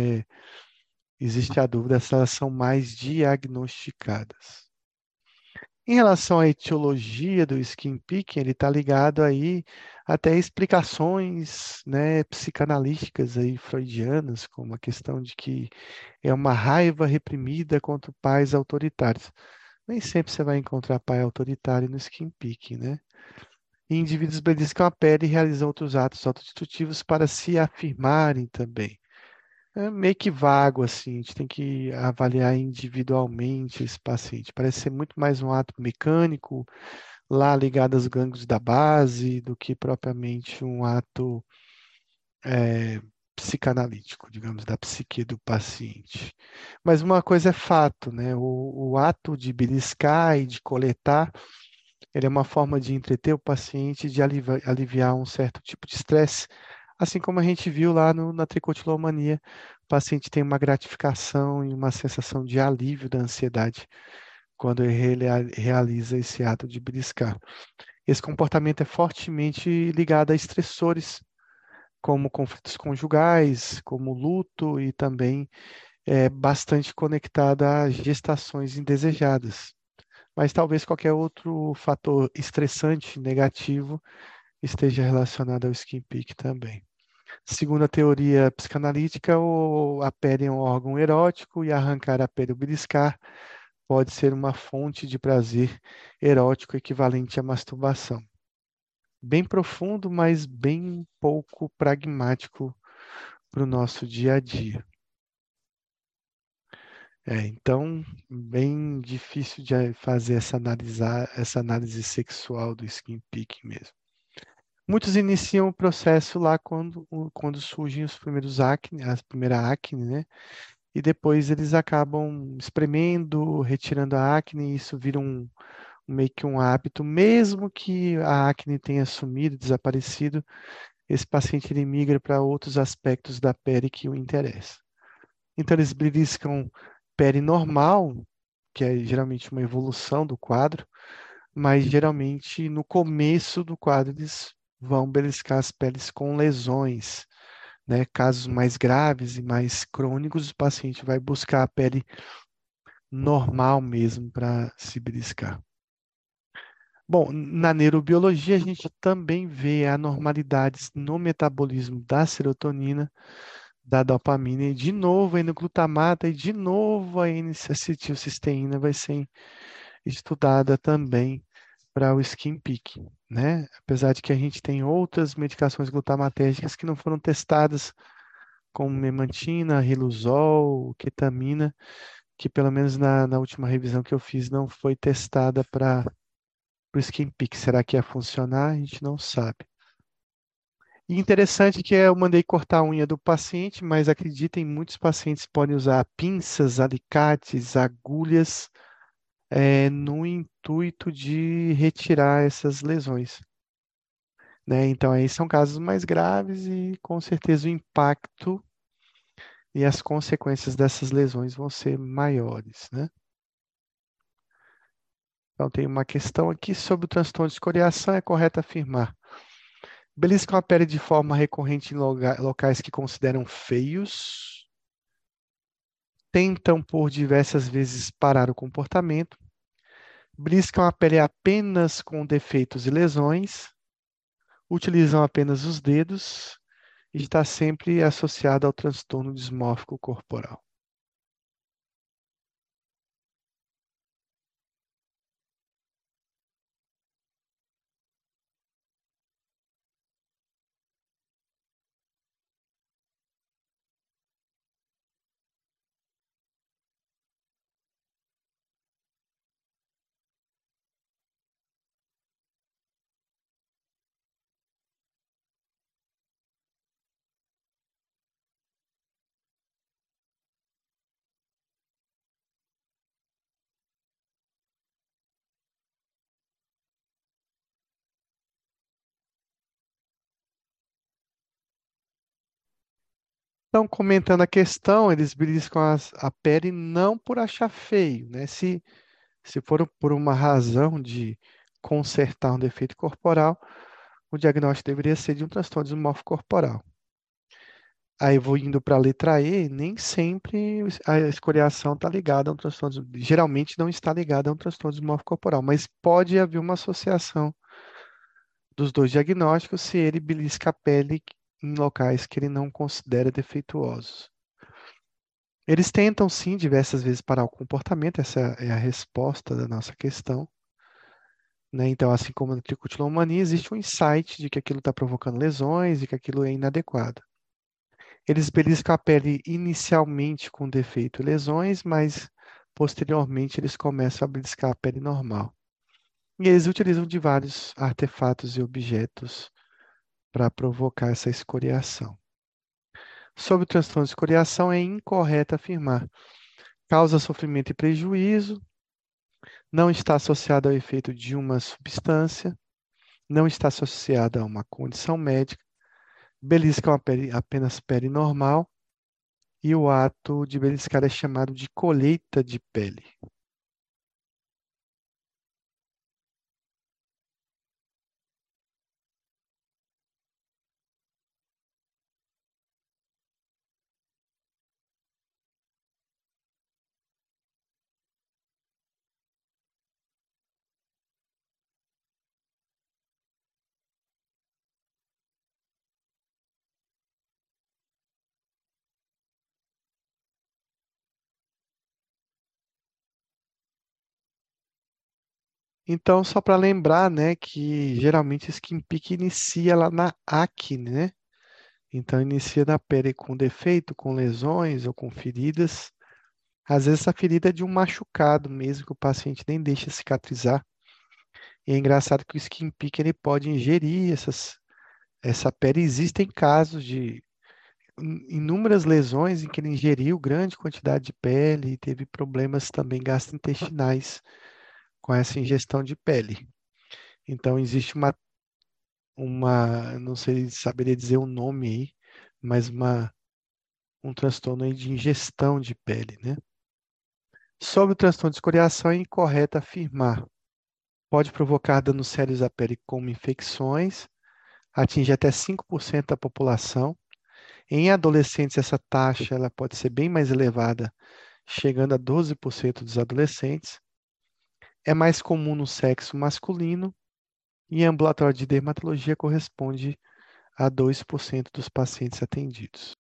existe a dúvida se elas são mais diagnosticadas. Em relação à etiologia do skin picking, ele está ligado aí até explicações, né, psicanalíticas aí freudianas, como a questão de que é uma raiva reprimida contra pais autoritários. Nem sempre você vai encontrar pai autoritário no skin picking, né? E indivíduos beliscam a pele e realizam outros atos autodestrutivos para se afirmarem também. É meio que vago, assim, a gente tem que avaliar individualmente esse paciente. Parece ser muito mais um ato mecânico, lá ligado aos gânglios da base, do que propriamente um ato psicanalítico, digamos, da psique do paciente. Mas uma coisa é fato, né? O ato de beliscar e de coletar, ele é uma forma de entreter o paciente, de aliviar um certo tipo de estresse. Assim como a gente viu lá na tricotilomania, o paciente tem uma gratificação e uma sensação de alívio da ansiedade quando ele realiza esse ato de beliscar. Esse comportamento é fortemente ligado a estressores, como conflitos conjugais, como luto, e também é bastante conectado a gestações indesejadas. Mas talvez qualquer outro fator estressante negativo esteja relacionado ao skin peak também. Segundo a teoria psicanalítica, a pele é um órgão erótico e arrancar a pele ou beliscar pode ser uma fonte de prazer erótico equivalente à masturbação. Bem profundo, mas bem pouco pragmático para o nosso dia a dia. Então, bem difícil de fazer essa análise sexual do skin picking mesmo. Muitos iniciam o processo lá quando surgem os primeiros acne, a primeira acne, né? E depois eles acabam espremendo, retirando a acne, e isso vira meio que um hábito, mesmo que a acne tenha sumido, desaparecido, esse paciente ele migra para outros aspectos da pele que o interessam. Então, eles beliscam pele normal, que é geralmente uma evolução do quadro, mas geralmente no começo do quadro eles vão beliscar as peles com lesões, né? Casos mais graves e mais crônicos, o paciente vai buscar a pele normal mesmo para se beliscar. Bom, na neurobiologia a gente também vê anormalidades no metabolismo da serotonina, da dopamina e de novo a N-glutamata e de novo a N-acetilcisteína vai ser estudada também para o skin picking, né? Apesar de que a gente tem outras medicações glutamatérgicas que não foram testadas, como memantina, riluzol, ketamina, que pelo menos na última revisão que eu fiz não foi testada para o skin pick. Será que ia funcionar? A gente não sabe. E interessante que eu mandei cortar a unha do paciente, mas acreditem, muitos pacientes podem usar pinças, alicates, agulhas, no intuito de retirar essas lesões, né? Então, aí são casos mais graves e, com certeza, o impacto e as consequências dessas lesões vão ser maiores, né? Então, tem uma questão aqui sobre o transtorno de escoriação. É correto afirmar: beliscam a pele de forma recorrente em locais que consideram feios, tentam por diversas vezes parar o comportamento, beliscam a pele apenas com defeitos e lesões, utilizam apenas os dedos e está sempre associado ao transtorno dismórfico corporal. Então, comentando a questão, eles beliscam a pele não por achar feio, né? Se for por uma razão de consertar um defeito corporal, o diagnóstico deveria ser de um transtorno dismórfico corporal. Aí vou indo para a letra E, nem sempre a escoriação está ligada a um transtorno, geralmente não está ligada a um transtorno dismórfico corporal, mas pode haver uma associação dos dois diagnósticos se ele belisca a pele em locais que ele não considera defeituosos. Eles tentam, sim, diversas vezes parar o comportamento, essa é a resposta da nossa questão, né? Então, assim como na tricotilomania, existe um insight de que aquilo está provocando lesões e que aquilo é inadequado. Eles beliscam a pele inicialmente com defeito e lesões, mas posteriormente eles começam a beliscar a pele normal. E eles utilizam de vários artefatos e objetos para provocar essa escoriação. Sobre o transtorno de escoriação, é incorreto afirmar: causa sofrimento e prejuízo, não está associada ao efeito de uma substância, não está associada a uma condição médica, beliscam a pele, apenas pele normal, e o ato de beliscar é chamado de colheita de pele. Então, só para lembrar, né, que geralmente o skin pick inicia lá na acne, né? Então, inicia na pele com defeito, com lesões ou com feridas. Às vezes, essa ferida é de um machucado mesmo, que o paciente nem deixa cicatrizar. E é engraçado que o skin pick ele pode ingerir essa pele. Existem casos de inúmeras lesões em que ele ingeriu grande quantidade de pele e teve problemas também gastrointestinais com essa ingestão de pele. Então, existe uma não sei, saberia dizer o nome aí, mas um transtorno aí de ingestão de pele, né? Sobre o transtorno de escoriação, é incorreto afirmar. Pode provocar danos sérios à pele, como infecções, atinge até 5% da população. Em adolescentes, essa taxa ela pode ser bem mais elevada, chegando a 12% dos adolescentes. É mais comum no sexo masculino e em ambulatório de dermatologia corresponde a 2% dos pacientes atendidos.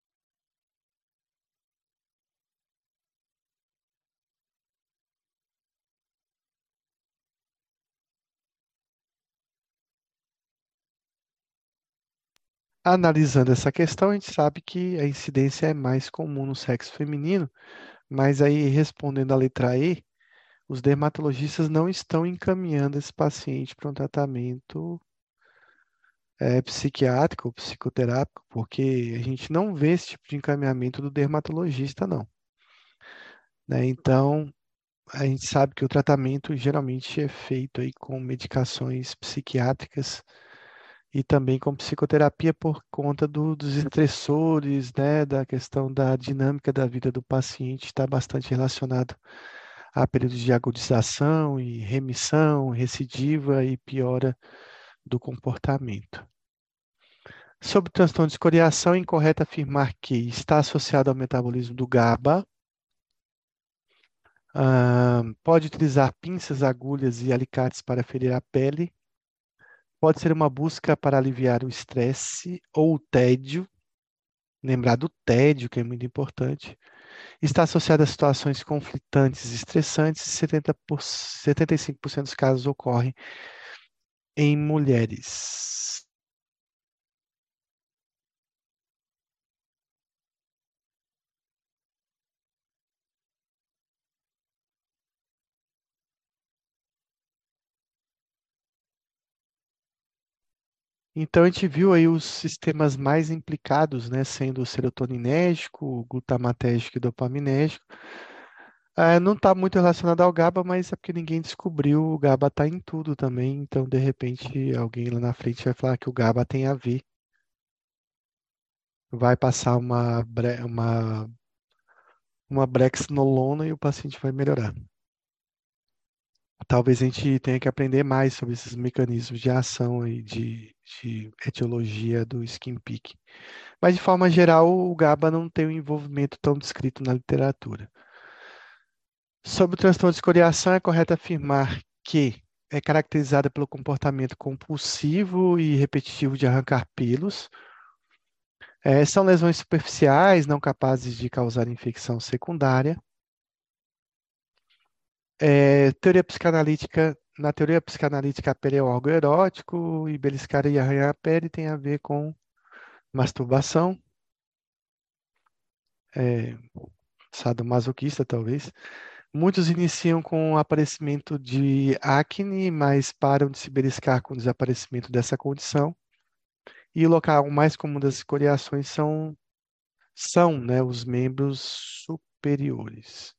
Analisando essa questão, a gente sabe que a incidência é mais comum no sexo feminino, mas aí respondendo a letra E, os dermatologistas não estão encaminhando esse paciente para um tratamento psiquiátrico ou psicoterápico, porque a gente não vê esse tipo de encaminhamento do dermatologista, não. Né? Então, a gente sabe que o tratamento geralmente é feito aí com medicações psiquiátricas e também com psicoterapia por conta dos estressores, né, da questão da dinâmica da vida do paciente, está bastante relacionado a períodos de agudização e remissão, recidiva e piora do comportamento. Sobre o transtorno de escoriação, é incorreto afirmar que está associado ao metabolismo do GABA. Pode utilizar pinças, agulhas e alicates para ferir a pele. Pode ser uma busca para aliviar o estresse ou o tédio. Lembrar do tédio, que é muito importante. Está associado a situações conflitantes e estressantes. 75% dos casos ocorrem em mulheres. Então, a gente viu aí os sistemas mais implicados, né, sendo o serotoninérgico, o glutamatérgico e o dopaminérgico. Não está muito relacionado ao GABA, mas é porque ninguém descobriu, o GABA está em tudo também, então de repente alguém lá na frente vai falar que o GABA tem a ver, vai passar uma brexanolona e o paciente vai melhorar. Talvez a gente tenha que aprender mais sobre esses mecanismos de ação aí de etiologia do skin peak. Mas, de forma geral, o GABA não tem um envolvimento tão descrito na literatura. Sobre o transtorno de escoriação, é correto afirmar que é caracterizada pelo comportamento compulsivo e repetitivo de arrancar pelos. São lesões superficiais, não capazes de causar infecção secundária. Na teoria psicanalítica, a pele é um órgão erótico e beliscar e arranhar a pele tem a ver com masturbação, é, sadomasoquista, talvez. Muitos iniciam com o aparecimento de acne, mas param de se beliscar com o desaparecimento dessa condição. E o local mais comum das escoriações são, né, os membros superiores.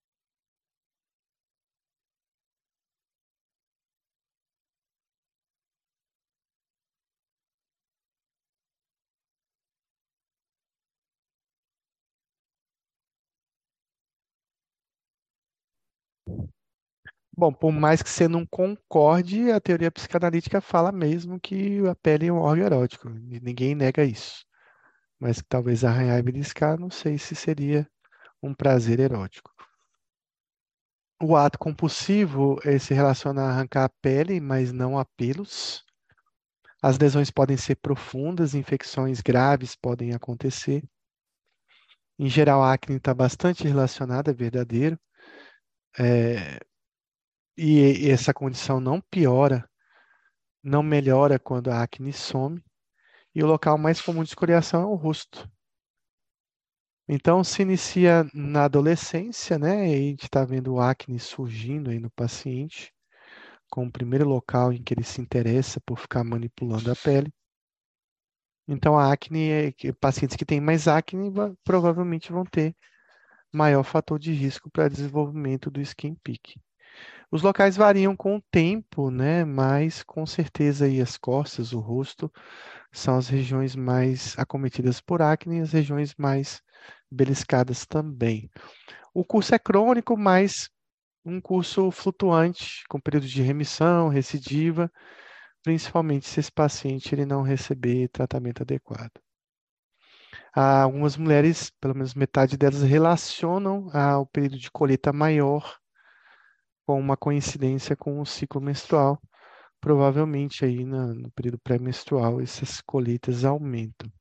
Bom, por mais que você não concorde, a teoria psicanalítica fala mesmo que a pele é um órgão erótico. Ninguém nega isso. Mas que talvez arranhar e beliscar, não sei se seria um prazer erótico. O ato compulsivo se relaciona a arrancar a pele, mas não a pelos. As lesões podem ser profundas, infecções graves podem acontecer. Em geral, a acne está bastante relacionada, é verdadeiro. É, e essa condição não piora, não melhora quando a acne some. E o local mais comum de escoriação é o rosto. Então, se inicia na adolescência, né? E a gente está vendo o acne surgindo aí no paciente, como o primeiro local em que ele se interessa por ficar manipulando a pele. Então, a acne, pacientes que têm mais acne provavelmente vão ter maior fator de risco para desenvolvimento do skin peak. Os locais variam com o tempo, né? Mas com certeza aí as costas, o rosto, são as regiões mais acometidas por acne e as regiões mais beliscadas também. O curso é crônico, mas um curso flutuante, com período de remissão, recidiva, principalmente se esse paciente ele não receber tratamento adequado. Algumas mulheres, pelo menos metade delas, relacionam o período de colheita maior com uma coincidência com o ciclo menstrual. Provavelmente aí no período pré-menstrual essas colheitas aumentam.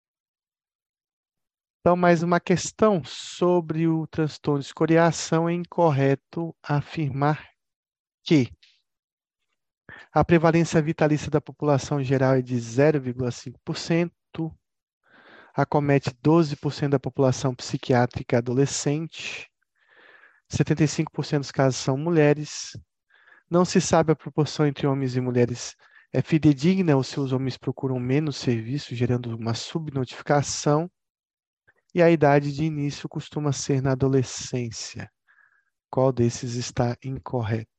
Então, mais uma questão sobre o transtorno de escoriação: é incorreto afirmar que a prevalência vitalícia da população geral é de 0,5%, acomete 12% da população psiquiátrica adolescente, 75% dos casos são mulheres, não se sabe a proporção entre homens e mulheres é fidedigna ou se os homens procuram menos serviço, gerando uma subnotificação, e a idade de início costuma ser na adolescência. Qual desses está incorreto?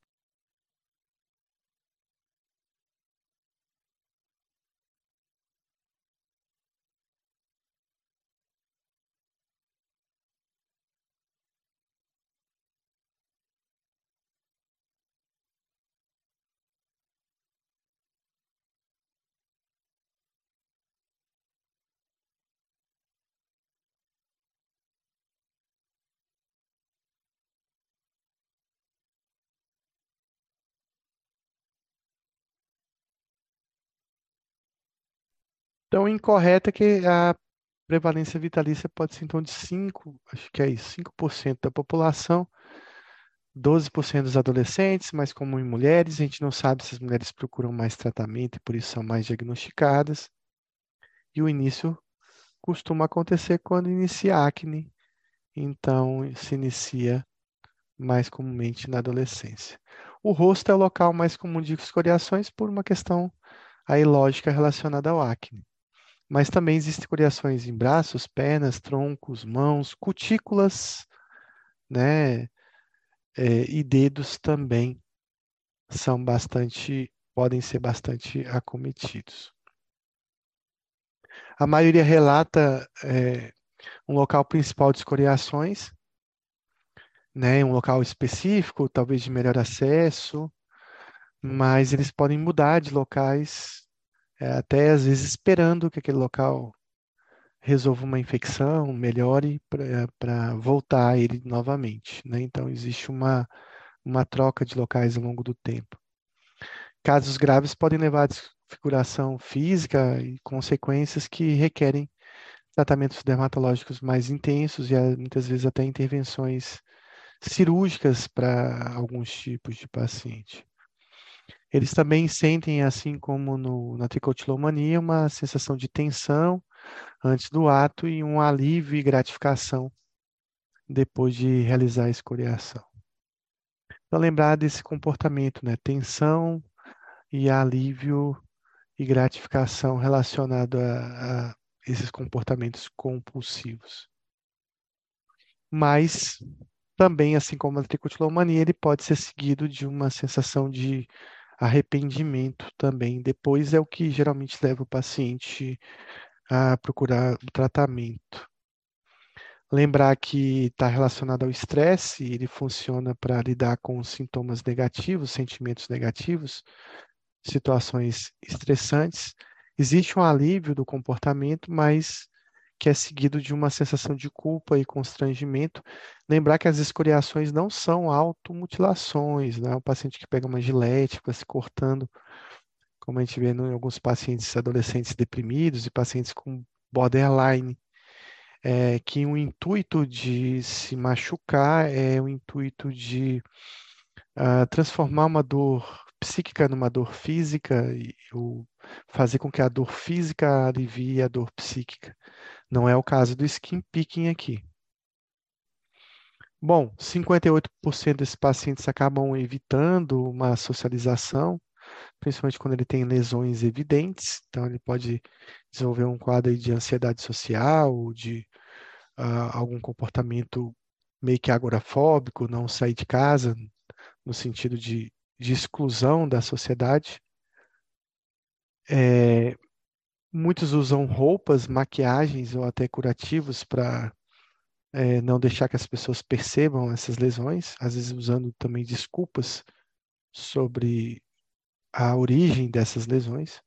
Então, incorreto é que a prevalência vitalícia pode ser então de 5, acho que é isso, 5% da população, 12% dos adolescentes, mais comum em mulheres. A gente não sabe se as mulheres procuram mais tratamento e por isso são mais diagnosticadas. E o início costuma acontecer quando inicia a acne, então se inicia mais comumente na adolescência. O rosto é o local mais comum de escoriações por uma questão aí lógica relacionada ao acne. Mas também existem escoriações em braços, pernas, troncos, mãos, cutículas, né? E dedos também podem ser bastante acometidos. A maioria relata um local principal de escoriações, né? Um local específico, talvez de melhor acesso, mas eles podem mudar de locais, até às vezes esperando que aquele local resolva uma infecção, melhore para voltar a ele novamente, né? Então existe uma troca de locais ao longo do tempo. Casos graves podem levar à desfiguração física e consequências que requerem tratamentos dermatológicos mais intensos e muitas vezes até intervenções cirúrgicas para alguns tipos de paciente. Eles também sentem, assim como na tricotilomania, uma sensação de tensão antes do ato e um alívio e gratificação depois de realizar a escoriação. Então, lembrar desse comportamento, né? Tensão e alívio e gratificação relacionado a esses comportamentos compulsivos. Mas também, assim como a tricotilomania, ele pode ser seguido de uma sensação de arrependimento também. Depois é o que geralmente leva o paciente a procurar o tratamento. Lembrar que está relacionado ao estresse, ele funciona para lidar com sintomas negativos, sentimentos negativos, situações estressantes. Existe um alívio do comportamento, mas que é seguido de uma sensação de culpa e constrangimento. Lembrar que as escoriações não são automutilações, né? O paciente que pega uma gilete, fica se cortando, como a gente vê em alguns pacientes adolescentes deprimidos e pacientes com borderline, que o intuito de se machucar é o intuito de transformar uma dor psíquica numa dor física e fazer com que a dor física alivie a dor psíquica. Não é o caso do skin picking aqui. Bom, 58% desses pacientes acabam evitando uma socialização, principalmente quando ele tem lesões evidentes. Então, ele pode desenvolver um quadro aí de ansiedade social, de algum comportamento meio que agorafóbico, não sair de casa, no sentido de exclusão da sociedade. É, muitos usam roupas, maquiagens ou até curativos para não deixar que as pessoas percebam essas lesões, às vezes usando também desculpas sobre a origem dessas lesões.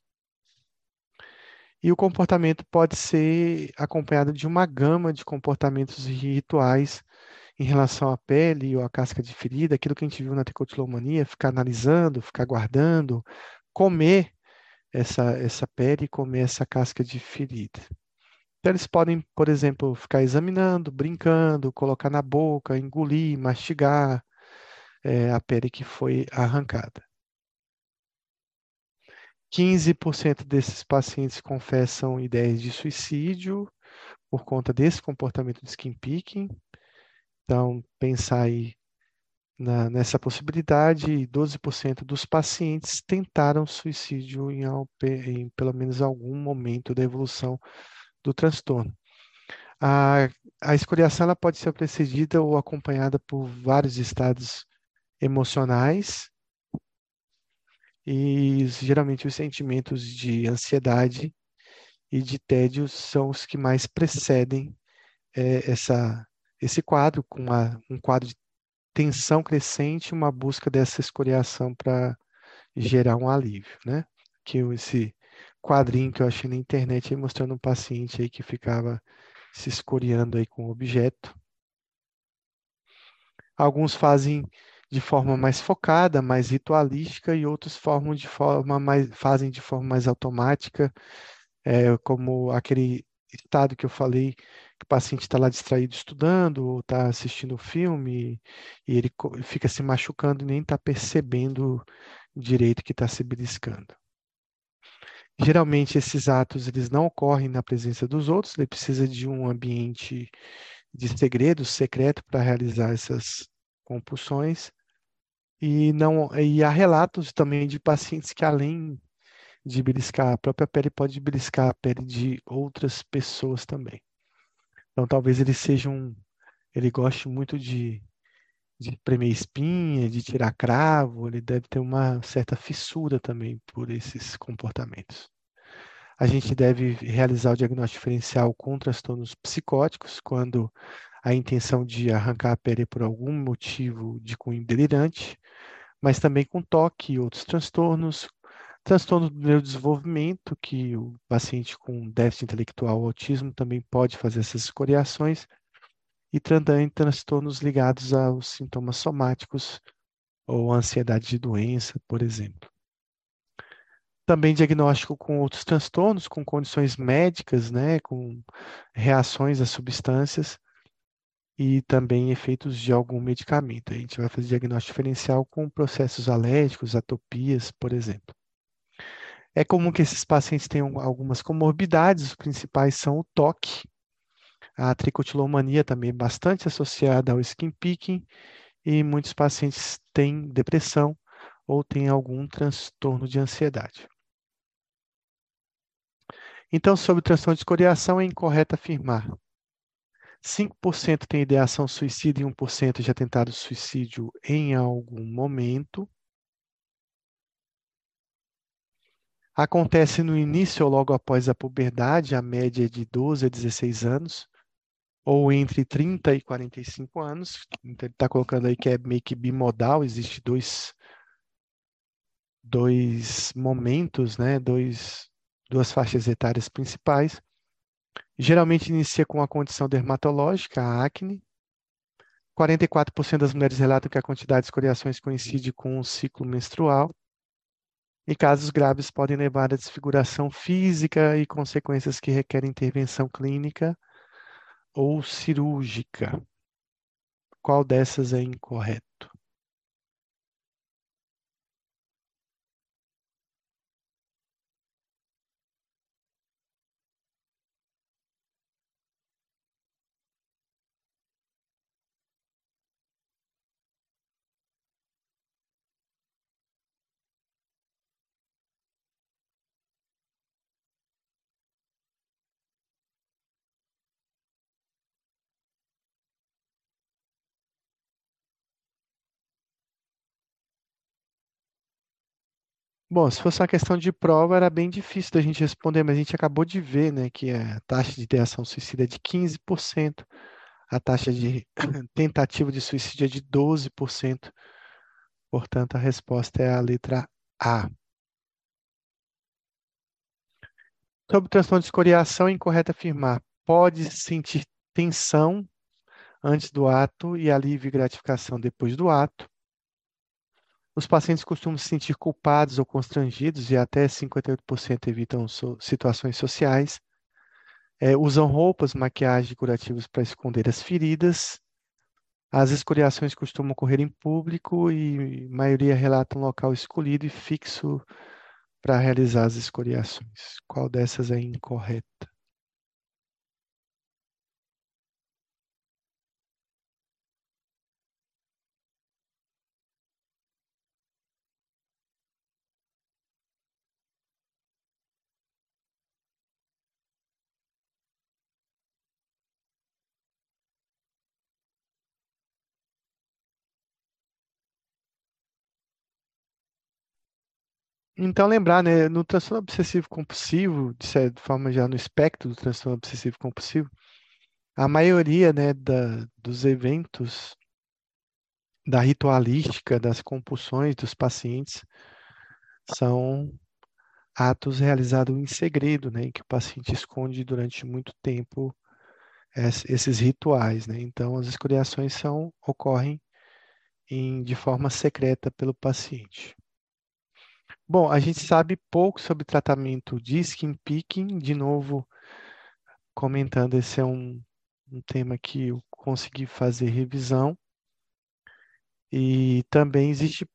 E o comportamento pode ser acompanhado de uma gama de comportamentos e rituais em relação à pele ou à casca de ferida, aquilo que a gente viu na tricotilomania, ficar analisando, ficar guardando, comer essa pele e comer essa casca de ferida. Então, eles podem, por exemplo, ficar examinando, brincando, colocar na boca, engolir, mastigar a pele que foi arrancada. 15% desses pacientes confessam ideias de suicídio por conta desse comportamento de skin picking. Então, pensar aí nessa possibilidade, 12% dos pacientes tentaram suicídio em pelo menos algum momento da evolução do transtorno. A, a escoriação ela pode ser precedida ou acompanhada por vários estados emocionais e geralmente os sentimentos de ansiedade e de tédio são os que mais precedem esse quadro, com um quadro de tensão crescente, uma busca dessa escoriação para gerar um alívio, né? Esse quadrinho que eu achei na internet aí mostrando um paciente aí que ficava se escoriando aí com o objeto. Alguns fazem de forma mais focada, mais ritualística, e outros fazem de forma mais automática, como aquele estado que eu falei, que o paciente está lá distraído estudando, ou está assistindo o filme, e ele fica se machucando e nem está percebendo direito que está se beliscando. Geralmente esses atos eles não ocorrem na presença dos outros, ele precisa de um ambiente de segredo, secreto para realizar essas compulsões. E há relatos também de pacientes que além de beliscar a própria pele, pode beliscar a pele de outras pessoas também. Então talvez ele goste muito de espremer espinha, de tirar cravo, ele deve ter uma certa fissura também por esses comportamentos. A gente deve realizar o diagnóstico diferencial com transtornos psicóticos, quando a intenção de arrancar a pele por algum motivo de cunho delirante, mas também com toque e outros transtornos do neurodesenvolvimento, que o paciente com déficit intelectual ou autismo também pode fazer essas escoriações, e também transtornos ligados aos sintomas somáticos ou ansiedade de doença, por exemplo. Também diagnóstico com outros transtornos, com condições médicas, né, com reações a substâncias e também efeitos de algum medicamento. A gente vai fazer diagnóstico diferencial com processos alérgicos, atopias, por exemplo. É comum que esses pacientes tenham algumas comorbidades, os principais são o toque, a tricotilomania também é bastante associada ao skin picking, e muitos pacientes têm depressão ou têm algum transtorno de ansiedade. Então, sobre o transtorno de escoriação, é incorreto afirmar. 5% tem ideação suicida e 1% já tentado suicídio em algum momento. Acontece no início ou logo após a puberdade, a média é de 12 a 16 anos, ou entre 30 e 45 anos. Então, ele está colocando aí que é meio que bimodal, existe dois momentos, né? Duas faixas etárias principais. Geralmente inicia com a condição dermatológica, a acne. 44% das mulheres relatam que a quantidade de escoriações coincide com o ciclo menstrual. E casos graves podem levar à desfiguração física e consequências que requerem intervenção clínica ou cirúrgica. Qual dessas é incorreto? Bom, se fosse uma questão de prova, era bem difícil da gente responder, mas a gente acabou de ver, né, que a taxa de ideação suicida é de 15%, a taxa de tentativa de suicídio é de 12%. Portanto, a resposta é a letra A. Sobre o transtorno de escoriação, é incorreto afirmar. Pode sentir tensão antes do ato e alívio e gratificação depois do ato. Os pacientes costumam se sentir culpados ou constrangidos e até 58% evitam situações sociais. Usam roupas, maquiagem curativas para esconder as feridas. As escoriações costumam ocorrer em público e a maioria relata um local escolhido e fixo para realizar as escoriações. Qual dessas é incorreta? Então, lembrar, né, no transtorno obsessivo compulsivo, de certa forma já no espectro do transtorno obsessivo compulsivo, a maioria, né, dos eventos da ritualística, das compulsões dos pacientes são atos realizados em segredo, né, em que o paciente esconde durante muito tempo esses rituais, né? Então, as escoriações ocorrem de forma secreta pelo paciente. Bom, a gente sabe pouco sobre tratamento de skin picking, de novo, comentando, esse é um tema que eu consegui fazer revisão, e também existe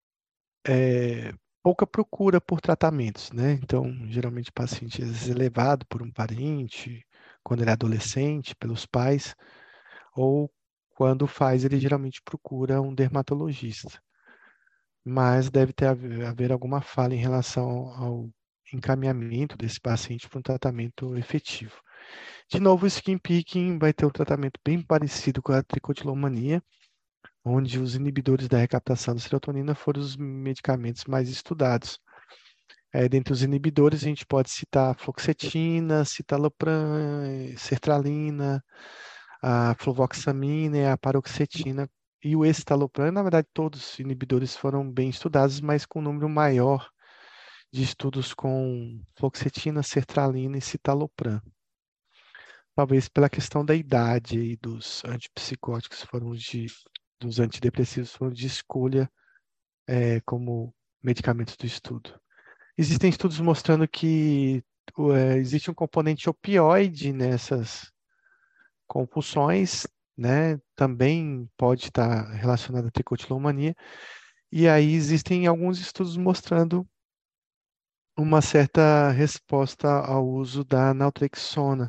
pouca procura por tratamentos, né? Então, geralmente o paciente às vezes é levado por um parente, quando ele é adolescente, pelos pais, ou quando faz, ele geralmente procura um dermatologista. Mas deve haver alguma falha em relação ao encaminhamento desse paciente para um tratamento efetivo. De novo, o skin picking vai ter um tratamento bem parecido com a tricotilomania, onde os inibidores da recaptação da serotonina foram os medicamentos mais estudados. Dentre os inibidores, a gente pode citar a fluoxetina, citalopram, sertralina, a fluvoxamina e a paroxetina. E o escitalopram, na verdade, todos os inibidores foram bem estudados, mas com um número maior de estudos com fluoxetina, sertralina e citalopram. Talvez pela questão da idade e dos antipsicóticos dos antidepressivos foram de escolha como medicamentos do estudo. Existem estudos mostrando que existe um componente opioide nessas compulsões, né? Também pode estar relacionado à tricotilomania. E aí existem alguns estudos mostrando uma certa resposta ao uso da naltrexona.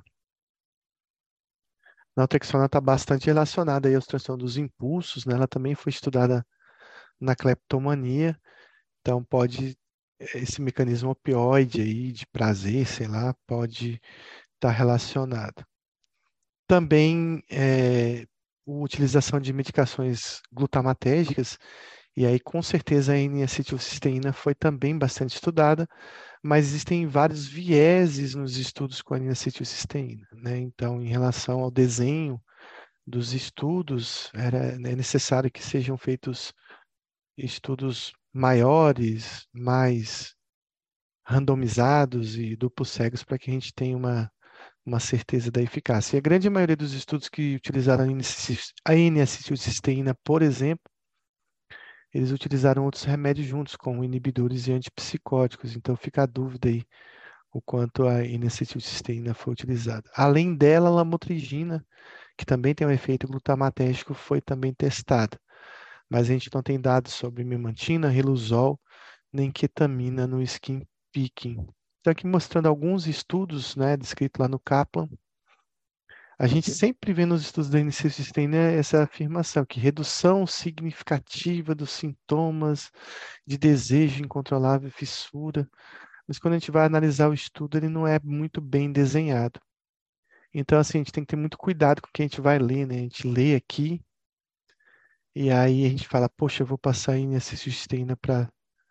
A naltrexona está bastante relacionada aí aos transtornos dos impulsos, né? Ela também foi estudada na cleptomania, então esse mecanismo opioide aí de prazer, sei lá, pode estar relacionado. Também a utilização de medicações glutamatérgicas, e aí com certeza a N-acetilcisteína foi também bastante estudada, mas existem vários vieses nos estudos com a N-acetilcisteína, né? Então, em relação ao desenho dos estudos, é necessário que sejam feitos estudos maiores, mais randomizados e duplos cegos para que a gente tenha uma certeza da eficácia. E a grande maioria dos estudos que utilizaram a N-acetilcisteína, por exemplo, eles utilizaram outros remédios juntos, como inibidores e antipsicóticos. Então fica a dúvida aí o quanto a N-acetilcisteína foi utilizada. Além dela, a lamotrigina, que também tem um efeito glutamatérgico, foi também testada. Mas a gente não tem dados sobre memantina, riluzol, nem ketamina no skin picking. Então aqui mostrando alguns estudos, né, descrito lá no Kaplan. A gente sempre vê nos estudos da N-acetilcisteína essa afirmação, que redução significativa dos sintomas de desejo incontrolável e fissura. Mas quando a gente vai analisar o estudo, ele não é muito bem desenhado. Então, assim, a gente tem que ter muito cuidado com o que a gente vai ler, né? A gente lê aqui e aí a gente fala, poxa, eu vou passar N-acetilcisteína para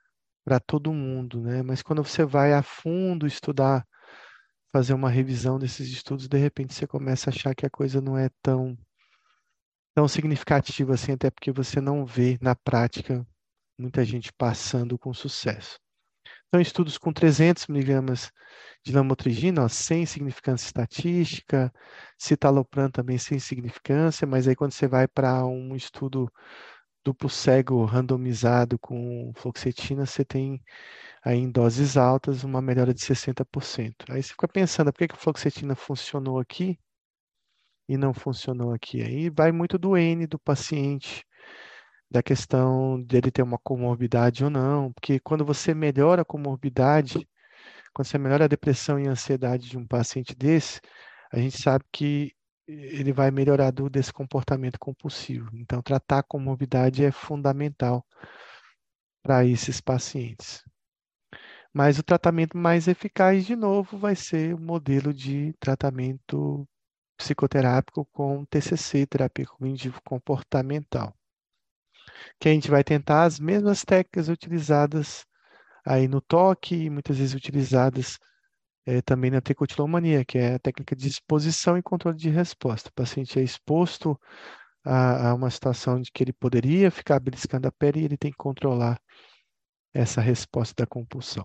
para todo mundo, né? Mas quando você vai a fundo estudar, fazer uma revisão desses estudos, de repente você começa a achar que a coisa não é tão significativa assim, até porque você não vê na prática muita gente passando com sucesso. Então, estudos com 300 miligramas de lamotrigina, ó, sem significância estatística, citalopram também sem significância, mas aí quando você vai para um estudo duplo cego randomizado com fluoxetina, você tem aí em doses altas uma melhora de 60%. Aí você fica pensando, por que que a fluoxetina funcionou aqui e não funcionou aqui? Aí vai muito do N do paciente, da questão dele ter uma comorbidade ou não, porque quando você melhora a comorbidade, quando você melhora a depressão e a ansiedade de um paciente desse, a gente sabe que ele vai melhorar desse comportamento compulsivo. Então, tratar a comorbidade é fundamental para esses pacientes. Mas o tratamento mais eficaz, de novo, vai ser o modelo de tratamento psicoterápico com TCC, terapia cognitivo comportamental, que a gente vai tentar as mesmas técnicas utilizadas aí no toque e muitas vezes utilizadas também na tricotilomania, que é a técnica de exposição e controle de resposta. O paciente é exposto a uma situação de que ele poderia ficar beliscando a pele e ele tem que controlar essa resposta da compulsão.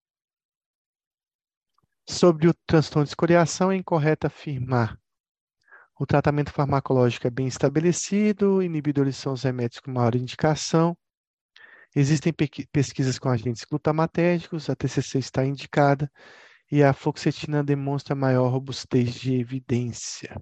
Sobre o transtorno de escoriação, é incorreto afirmar. O tratamento farmacológico é bem estabelecido, inibidores são os remédios com maior indicação. Existem pesquisas com agentes glutamatérgicos, a TCC está indicada, e a fluoxetina demonstra maior robustez de evidência.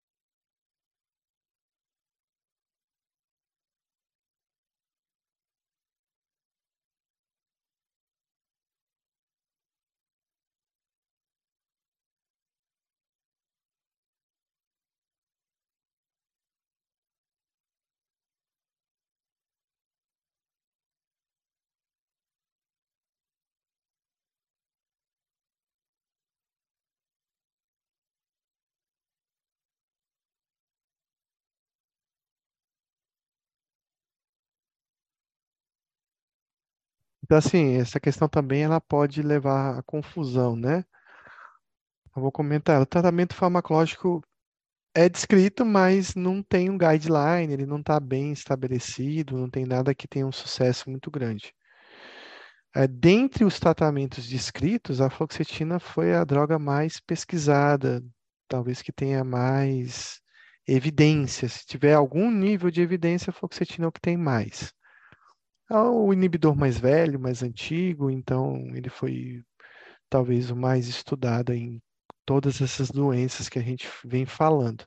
Então, assim, essa questão também ela pode levar à confusão, né? Eu vou comentar. O tratamento farmacológico é descrito, mas não tem um guideline, ele não está bem estabelecido, não tem nada que tenha um sucesso muito grande. Dentre os tratamentos descritos, a fluoxetina foi a droga mais pesquisada, talvez que tenha mais evidência. Se tiver algum nível de evidência, a fluoxetina é o que tem mais. É o inibidor mais velho, mais antigo, então ele foi talvez o mais estudado em todas essas doenças que a gente vem falando.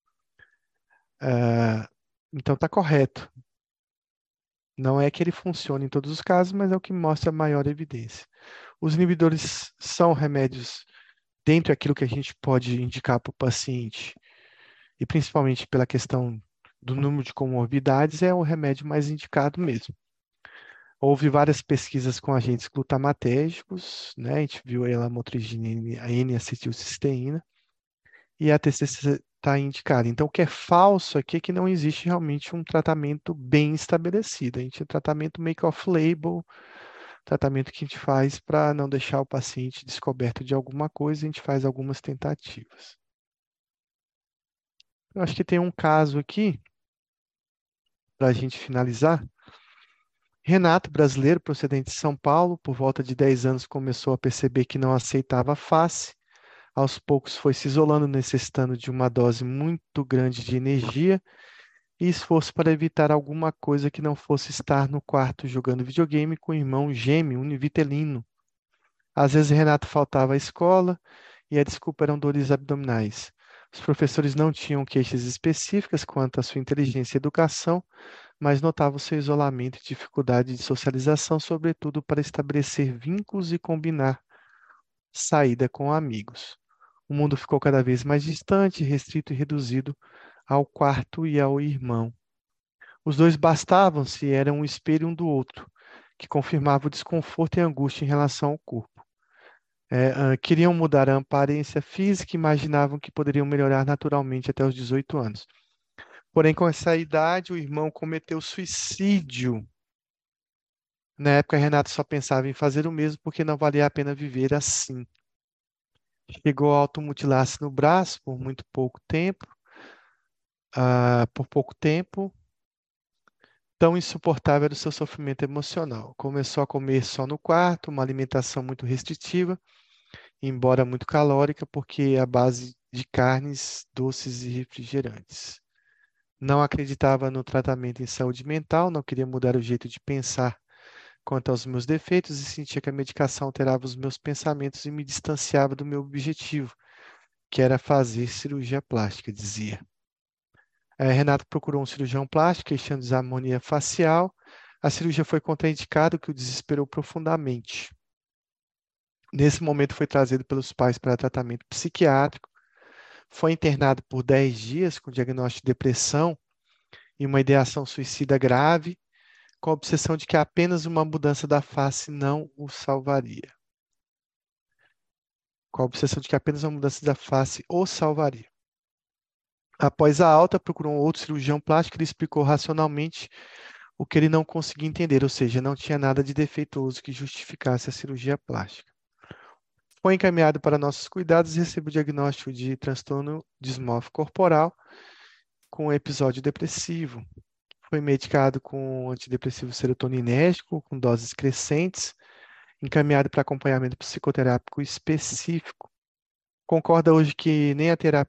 Ah, então está correto. Não é que ele funcione em todos os casos, mas é o que mostra maior evidência. Os inibidores são remédios dentro daquilo que a gente pode indicar para o paciente, e principalmente pela questão do número de comorbidades, é o remédio mais indicado mesmo. Houve várias pesquisas com agentes glutamatérgicos, né? A gente viu aí a lamotrigina, a N-acetilcisteína, e a TCC está indicada. Então, o que é falso aqui é que não existe realmente um tratamento bem estabelecido. A gente tem tratamento make off-label, tratamento que a gente faz para não deixar o paciente descoberto de alguma coisa, a gente faz algumas tentativas. Eu acho que tem um caso aqui, para a gente finalizar. Renato, brasileiro, procedente de São Paulo, por volta de 10 anos começou a perceber que não aceitava a face. Aos poucos foi se isolando, necessitando de uma dose muito grande de energia e esforço para evitar alguma coisa que não fosse estar no quarto jogando videogame com o irmão gêmeo univitelino. Às vezes Renato faltava à escola e a desculpa eram dores abdominais. Os professores não tinham queixas específicas quanto à sua inteligência e educação, mas notavam seu isolamento e dificuldade de socialização, sobretudo para estabelecer vínculos e combinar saída com amigos. O mundo ficou cada vez mais distante, restrito e reduzido ao quarto e ao irmão. Os dois bastavam-se e eram um espelho um do outro, que confirmava o desconforto e a angústia em relação ao corpo. Queriam mudar a aparência física e imaginavam que poderiam melhorar naturalmente até os 18 anos. Porém, com essa idade, o irmão cometeu suicídio Na época, Renato só pensava em fazer o mesmo porque não valia a pena viver assim. Chegou a automutilar-se no braço por muito pouco tempo, por pouco tempo. Tão insuportável era o seu sofrimento emocional. Começou a comer só no quarto, uma alimentação muito restritiva, embora muito calórica, porque à base de carnes, doces e refrigerantes. Não acreditava no tratamento em saúde mental, não queria mudar o jeito de pensar quanto aos meus defeitos e sentia que a medicação alterava os meus pensamentos e me distanciava do meu objetivo, que era fazer cirurgia plástica, dizia. Renato procurou um cirurgião plástico, queixando desarmonia facial. A cirurgia foi contraindicada, o que o desesperou profundamente. Nesse momento, foi trazido pelos pais para tratamento psiquiátrico. Foi internado por 10 dias com diagnóstico de depressão e uma ideação suicida grave, com a obsessão de que apenas uma mudança da face não o salvaria. Com a obsessão de que apenas uma mudança da face o salvaria. Após a alta, procurou um outro cirurgião plástico que lhe explicou racionalmente o que ele não conseguia entender, ou seja, não tinha nada de defeituoso que justificasse a cirurgia plástica. Foi encaminhado para nossos cuidados e recebeu o diagnóstico de transtorno dismórfico corporal com episódio depressivo. Foi medicado com antidepressivo serotoninérgico, com doses crescentes, encaminhado para acompanhamento psicoterápico específico. Concorda hoje que nem a terapia,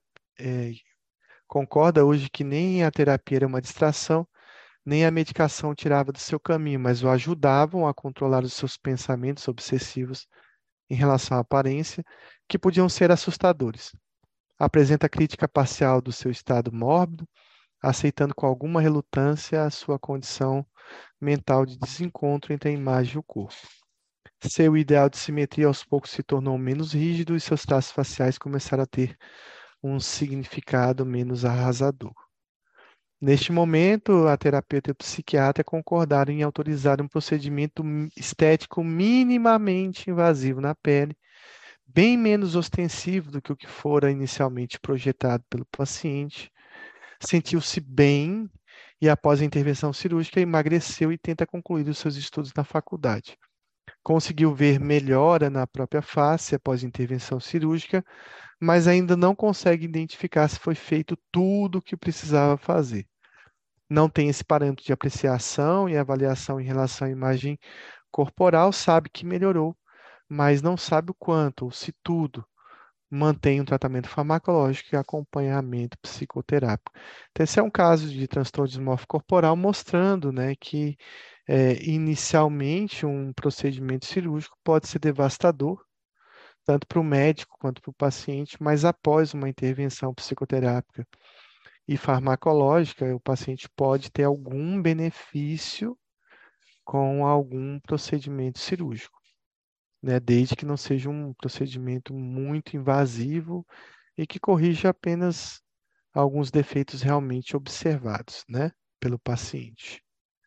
concorda hoje que nem a terapia era uma distração, nem a medicação o tirava do seu caminho, mas o ajudavam a controlar os seus pensamentos obsessivos em relação à aparência, que podiam ser assustadores. Apresenta crítica parcial do seu estado mórbido, aceitando com alguma relutância a sua condição mental de desencontro entre a imagem e o corpo. Seu ideal de simetria aos poucos se tornou menos rígido e seus traços faciais começaram a ter um significado menos arrasador. Neste momento, a terapeuta e o psiquiatra concordaram em autorizar um procedimento estético minimamente invasivo na pele, bem menos ostensivo do que o que fora inicialmente projetado pelo paciente. Sentiu-se bem e, após a intervenção cirúrgica, emagreceu e tenta concluir os seus estudos na faculdade. Conseguiu ver melhora na própria face após a intervenção cirúrgica, mas ainda não consegue identificar se foi feito tudo o que precisava fazer. Não tem esse parâmetro de apreciação e avaliação em relação à imagem corporal, sabe que melhorou, mas não sabe o quanto ou se tudo. Mantém um tratamento farmacológico e acompanhamento psicoterápico. Então, esse é um caso de transtorno dismórfico corporal mostrando, né, que inicialmente um procedimento cirúrgico pode ser devastador, tanto para o médico quanto para o paciente, mas após uma intervenção psicoterápica e farmacológica, o paciente pode ter algum benefício com algum procedimento cirúrgico, né? Desde que não seja um procedimento muito invasivo e que corrija apenas alguns defeitos realmente observados, né, pelo paciente.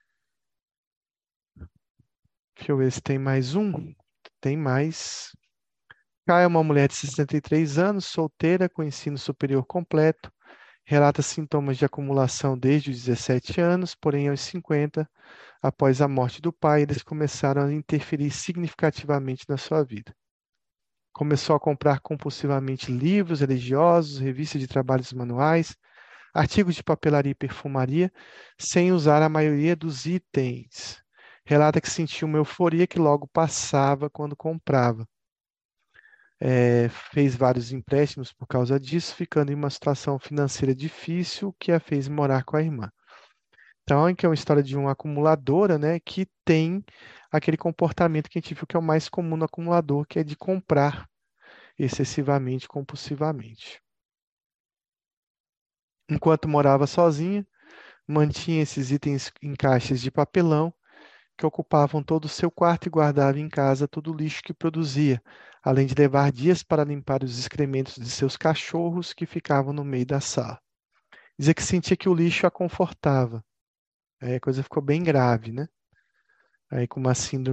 Deixa eu ver se tem mais um. Tem mais. Cá é uma mulher de 63 anos, solteira, com ensino superior completo. Relata sintomas de acumulação desde os 17 anos, porém aos 50, após a morte do pai, eles começaram a interferir significativamente na sua vida. Começou a comprar compulsivamente livros religiosos, revistas de trabalhos manuais, artigos de papelaria e perfumaria, sem usar a maioria dos itens. Relata que sentiu uma euforia que logo passava quando comprava. Fez vários empréstimos por causa disso, ficando em uma situação financeira difícil que a fez morar com a irmã. Então, que é uma história de uma acumuladora, né, que tem aquele comportamento que a gente viu que é o mais comum no acumulador, que é de comprar excessivamente, compulsivamente. Enquanto morava sozinha, mantinha esses itens em caixas de papelão que ocupavam todo o seu quarto e guardava em casa todo o lixo que produzia, além de levar dias para limpar os excrementos de seus cachorros que ficavam no meio da sala. Dizia que sentia que o lixo a confortava. Aí a coisa ficou bem grave, né? Aí com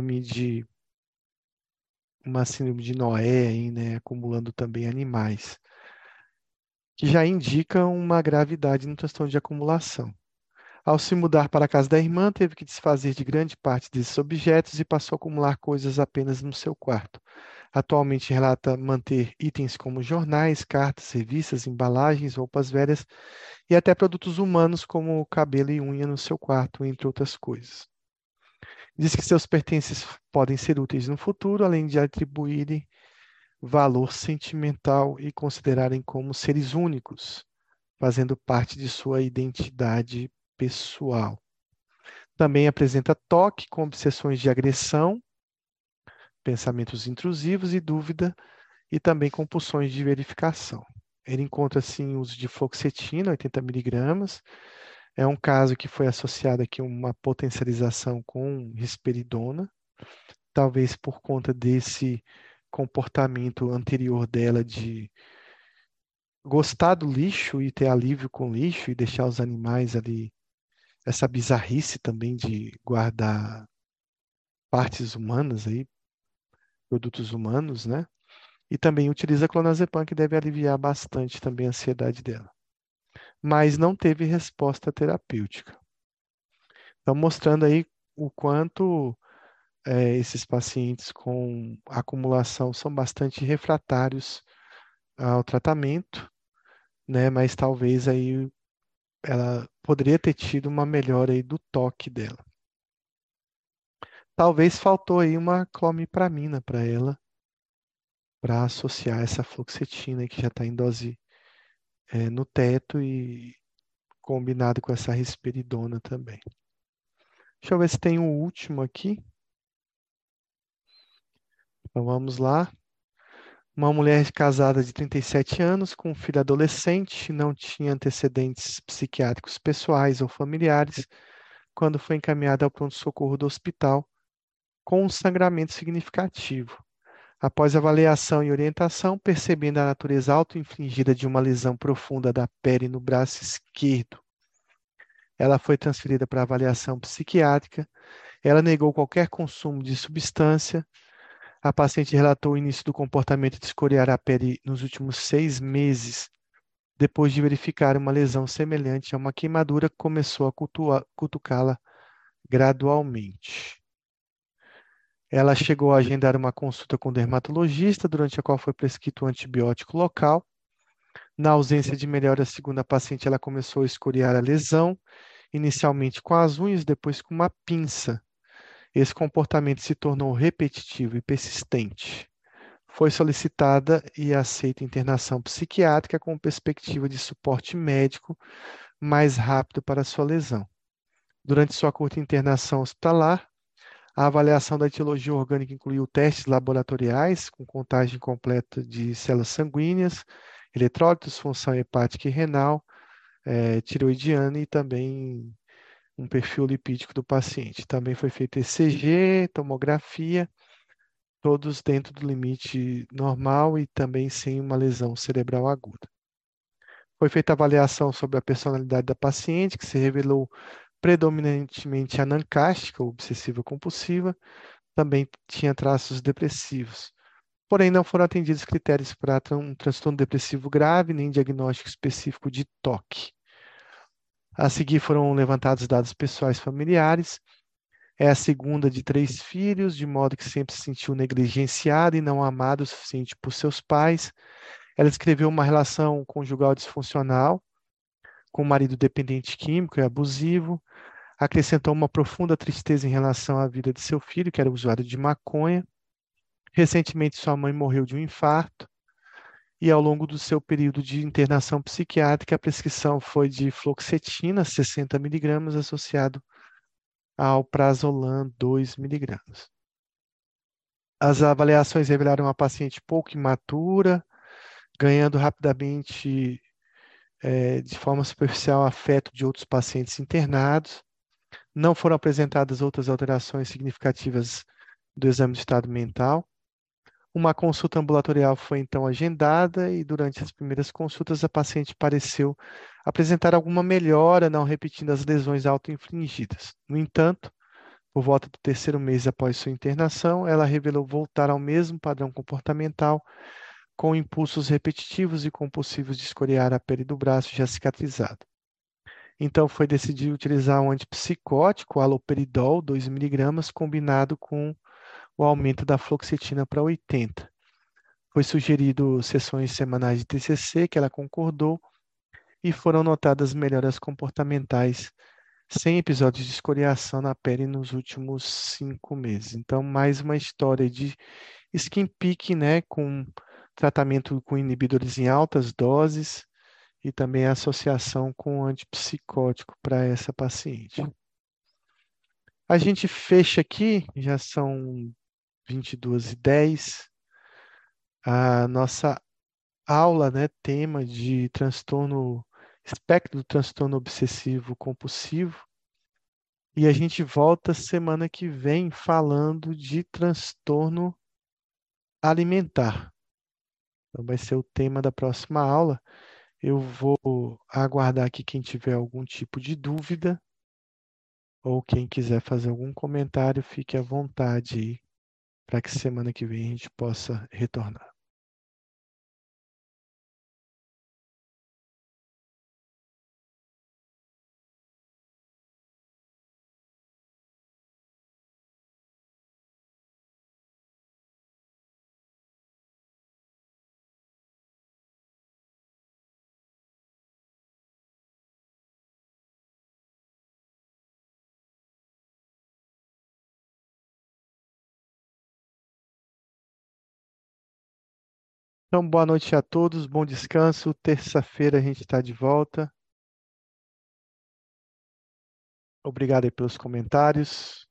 uma síndrome de Noé aí, né, acumulando também animais, que já indica uma gravidade no transtorno de acumulação. Ao se mudar para a casa da irmã, teve que desfazer de grande parte desses objetos e passou a acumular coisas apenas no seu quarto. Atualmente relata manter itens como jornais, cartas, revistas, embalagens, roupas velhas e até produtos humanos como cabelo e unha no seu quarto, entre outras coisas. Diz que seus pertences podem ser úteis no futuro, além de atribuírem valor sentimental e considerarem como seres únicos, fazendo parte de sua identidade pessoal. Também apresenta toque com obsessões de agressão, pensamentos intrusivos e dúvida, e também compulsões de verificação. Ele encontra, assim, uso de fluoxetina, 80 miligramas. É um caso que foi associado aqui a uma potencialização com risperidona, talvez por conta desse comportamento anterior dela de gostar do lixo e ter alívio com o lixo e deixar os animais ali, essa bizarrice também de guardar partes humanas aí, produtos humanos, né? E também utiliza clonazepam, que deve aliviar bastante também a ansiedade dela. Mas não teve resposta terapêutica. Então, mostrando aí o quanto esses pacientes com acumulação são bastante refratários ao tratamento, né? Mas talvez aí ela poderia ter tido uma melhora aí do toque dela. Talvez faltou aí uma clomipramina para ela, para associar essa fluoxetina que já está em dose no teto e combinado com essa risperidona também. Deixa eu ver se tem um último aqui. Então vamos lá. Uma mulher casada de 37 anos, com um filho adolescente, não tinha antecedentes psiquiátricos pessoais ou familiares, quando foi encaminhada ao pronto-socorro do hospital com um sangramento significativo. Após avaliação e orientação, percebendo a natureza auto-infligida de uma lesão profunda da pele no braço esquerdo, ela foi transferida para avaliação psiquiátrica. Ela negou qualquer consumo de substância. A paciente relatou o início do comportamento de escoriar a pele nos últimos 6 meses, depois de verificar uma lesão semelhante a uma queimadura que começou a cutucá-la gradualmente. Ela chegou a agendar uma consulta com o dermatologista, durante a qual foi prescrito um antibiótico local. Na ausência de melhora, segundo a paciente, ela começou a escoriar a lesão, inicialmente com as unhas, depois com uma pinça. Esse comportamento se tornou repetitivo e persistente. Foi solicitada e aceita internação psiquiátrica com perspectiva de suporte médico mais rápido para sua lesão. Durante sua curta internação hospitalar, a avaliação da etiologia orgânica incluiu testes laboratoriais com contagem completa de células sanguíneas, eletrólitos, função hepática e renal, tiroidiana e também um perfil lipídico do paciente. Também foi feito ECG, tomografia, todos dentro do limite normal e também sem uma lesão cerebral aguda. Foi feita avaliação sobre a personalidade da paciente, que se revelou predominantemente anancástica, ou obsessiva compulsiva, também tinha traços depressivos. Porém, não foram atendidos critérios para um transtorno depressivo grave, nem diagnóstico específico de TOC. A seguir foram levantados dados pessoais familiares. É a segunda de 3 filhos, de modo que sempre se sentiu negligenciada e não amada o suficiente por seus pais. Ela descreveu uma relação conjugal disfuncional, com um marido dependente químico e abusivo. Acrescentou uma profunda tristeza em relação à vida de seu filho, que era usuário de maconha. Recentemente, sua mãe morreu de um infarto. E ao longo do seu período de internação psiquiátrica, a prescrição foi de fluoxetina, 60 miligramas, associado ao prazolam, 2 miligramas. As avaliações revelaram uma paciente pouco imatura, ganhando rapidamente, de forma superficial, afeto de outros pacientes internados. Não foram apresentadas outras alterações significativas do exame de estado mental. Uma consulta ambulatorial foi então agendada e durante as primeiras consultas a paciente pareceu apresentar alguma melhora, não repetindo as lesões autoinfligidas. No entanto, por volta do 3º mês após sua internação, ela revelou voltar ao mesmo padrão comportamental, com impulsos repetitivos e compulsivos de escoriar a pele do braço já cicatrizado. Então, foi decidido utilizar um antipsicótico, haloperidol, 2 miligramas, combinado com o aumento da fluoxetina para 80. Foi sugerido sessões semanais de TCC, que ela concordou, e foram notadas melhoras comportamentais sem episódios de escoriação na pele nos últimos 5 meses. Então, mais uma história de skin picking, né, com tratamento com inibidores em altas doses e também a associação com antipsicótico para essa paciente. A gente fecha aqui, já são 22h10, a nossa aula, né, tema de transtorno, espectro do transtorno obsessivo compulsivo. E a gente volta semana que vem falando de transtorno alimentar. Então vai ser o tema da próxima aula. Eu vou aguardar aqui quem tiver algum tipo de dúvida ou quem quiser fazer algum comentário, fique à vontade aí para que semana que vem a gente possa retornar. Então, boa noite a todos, bom descanso. Terça-feira a gente está de volta. Obrigado aí pelos comentários.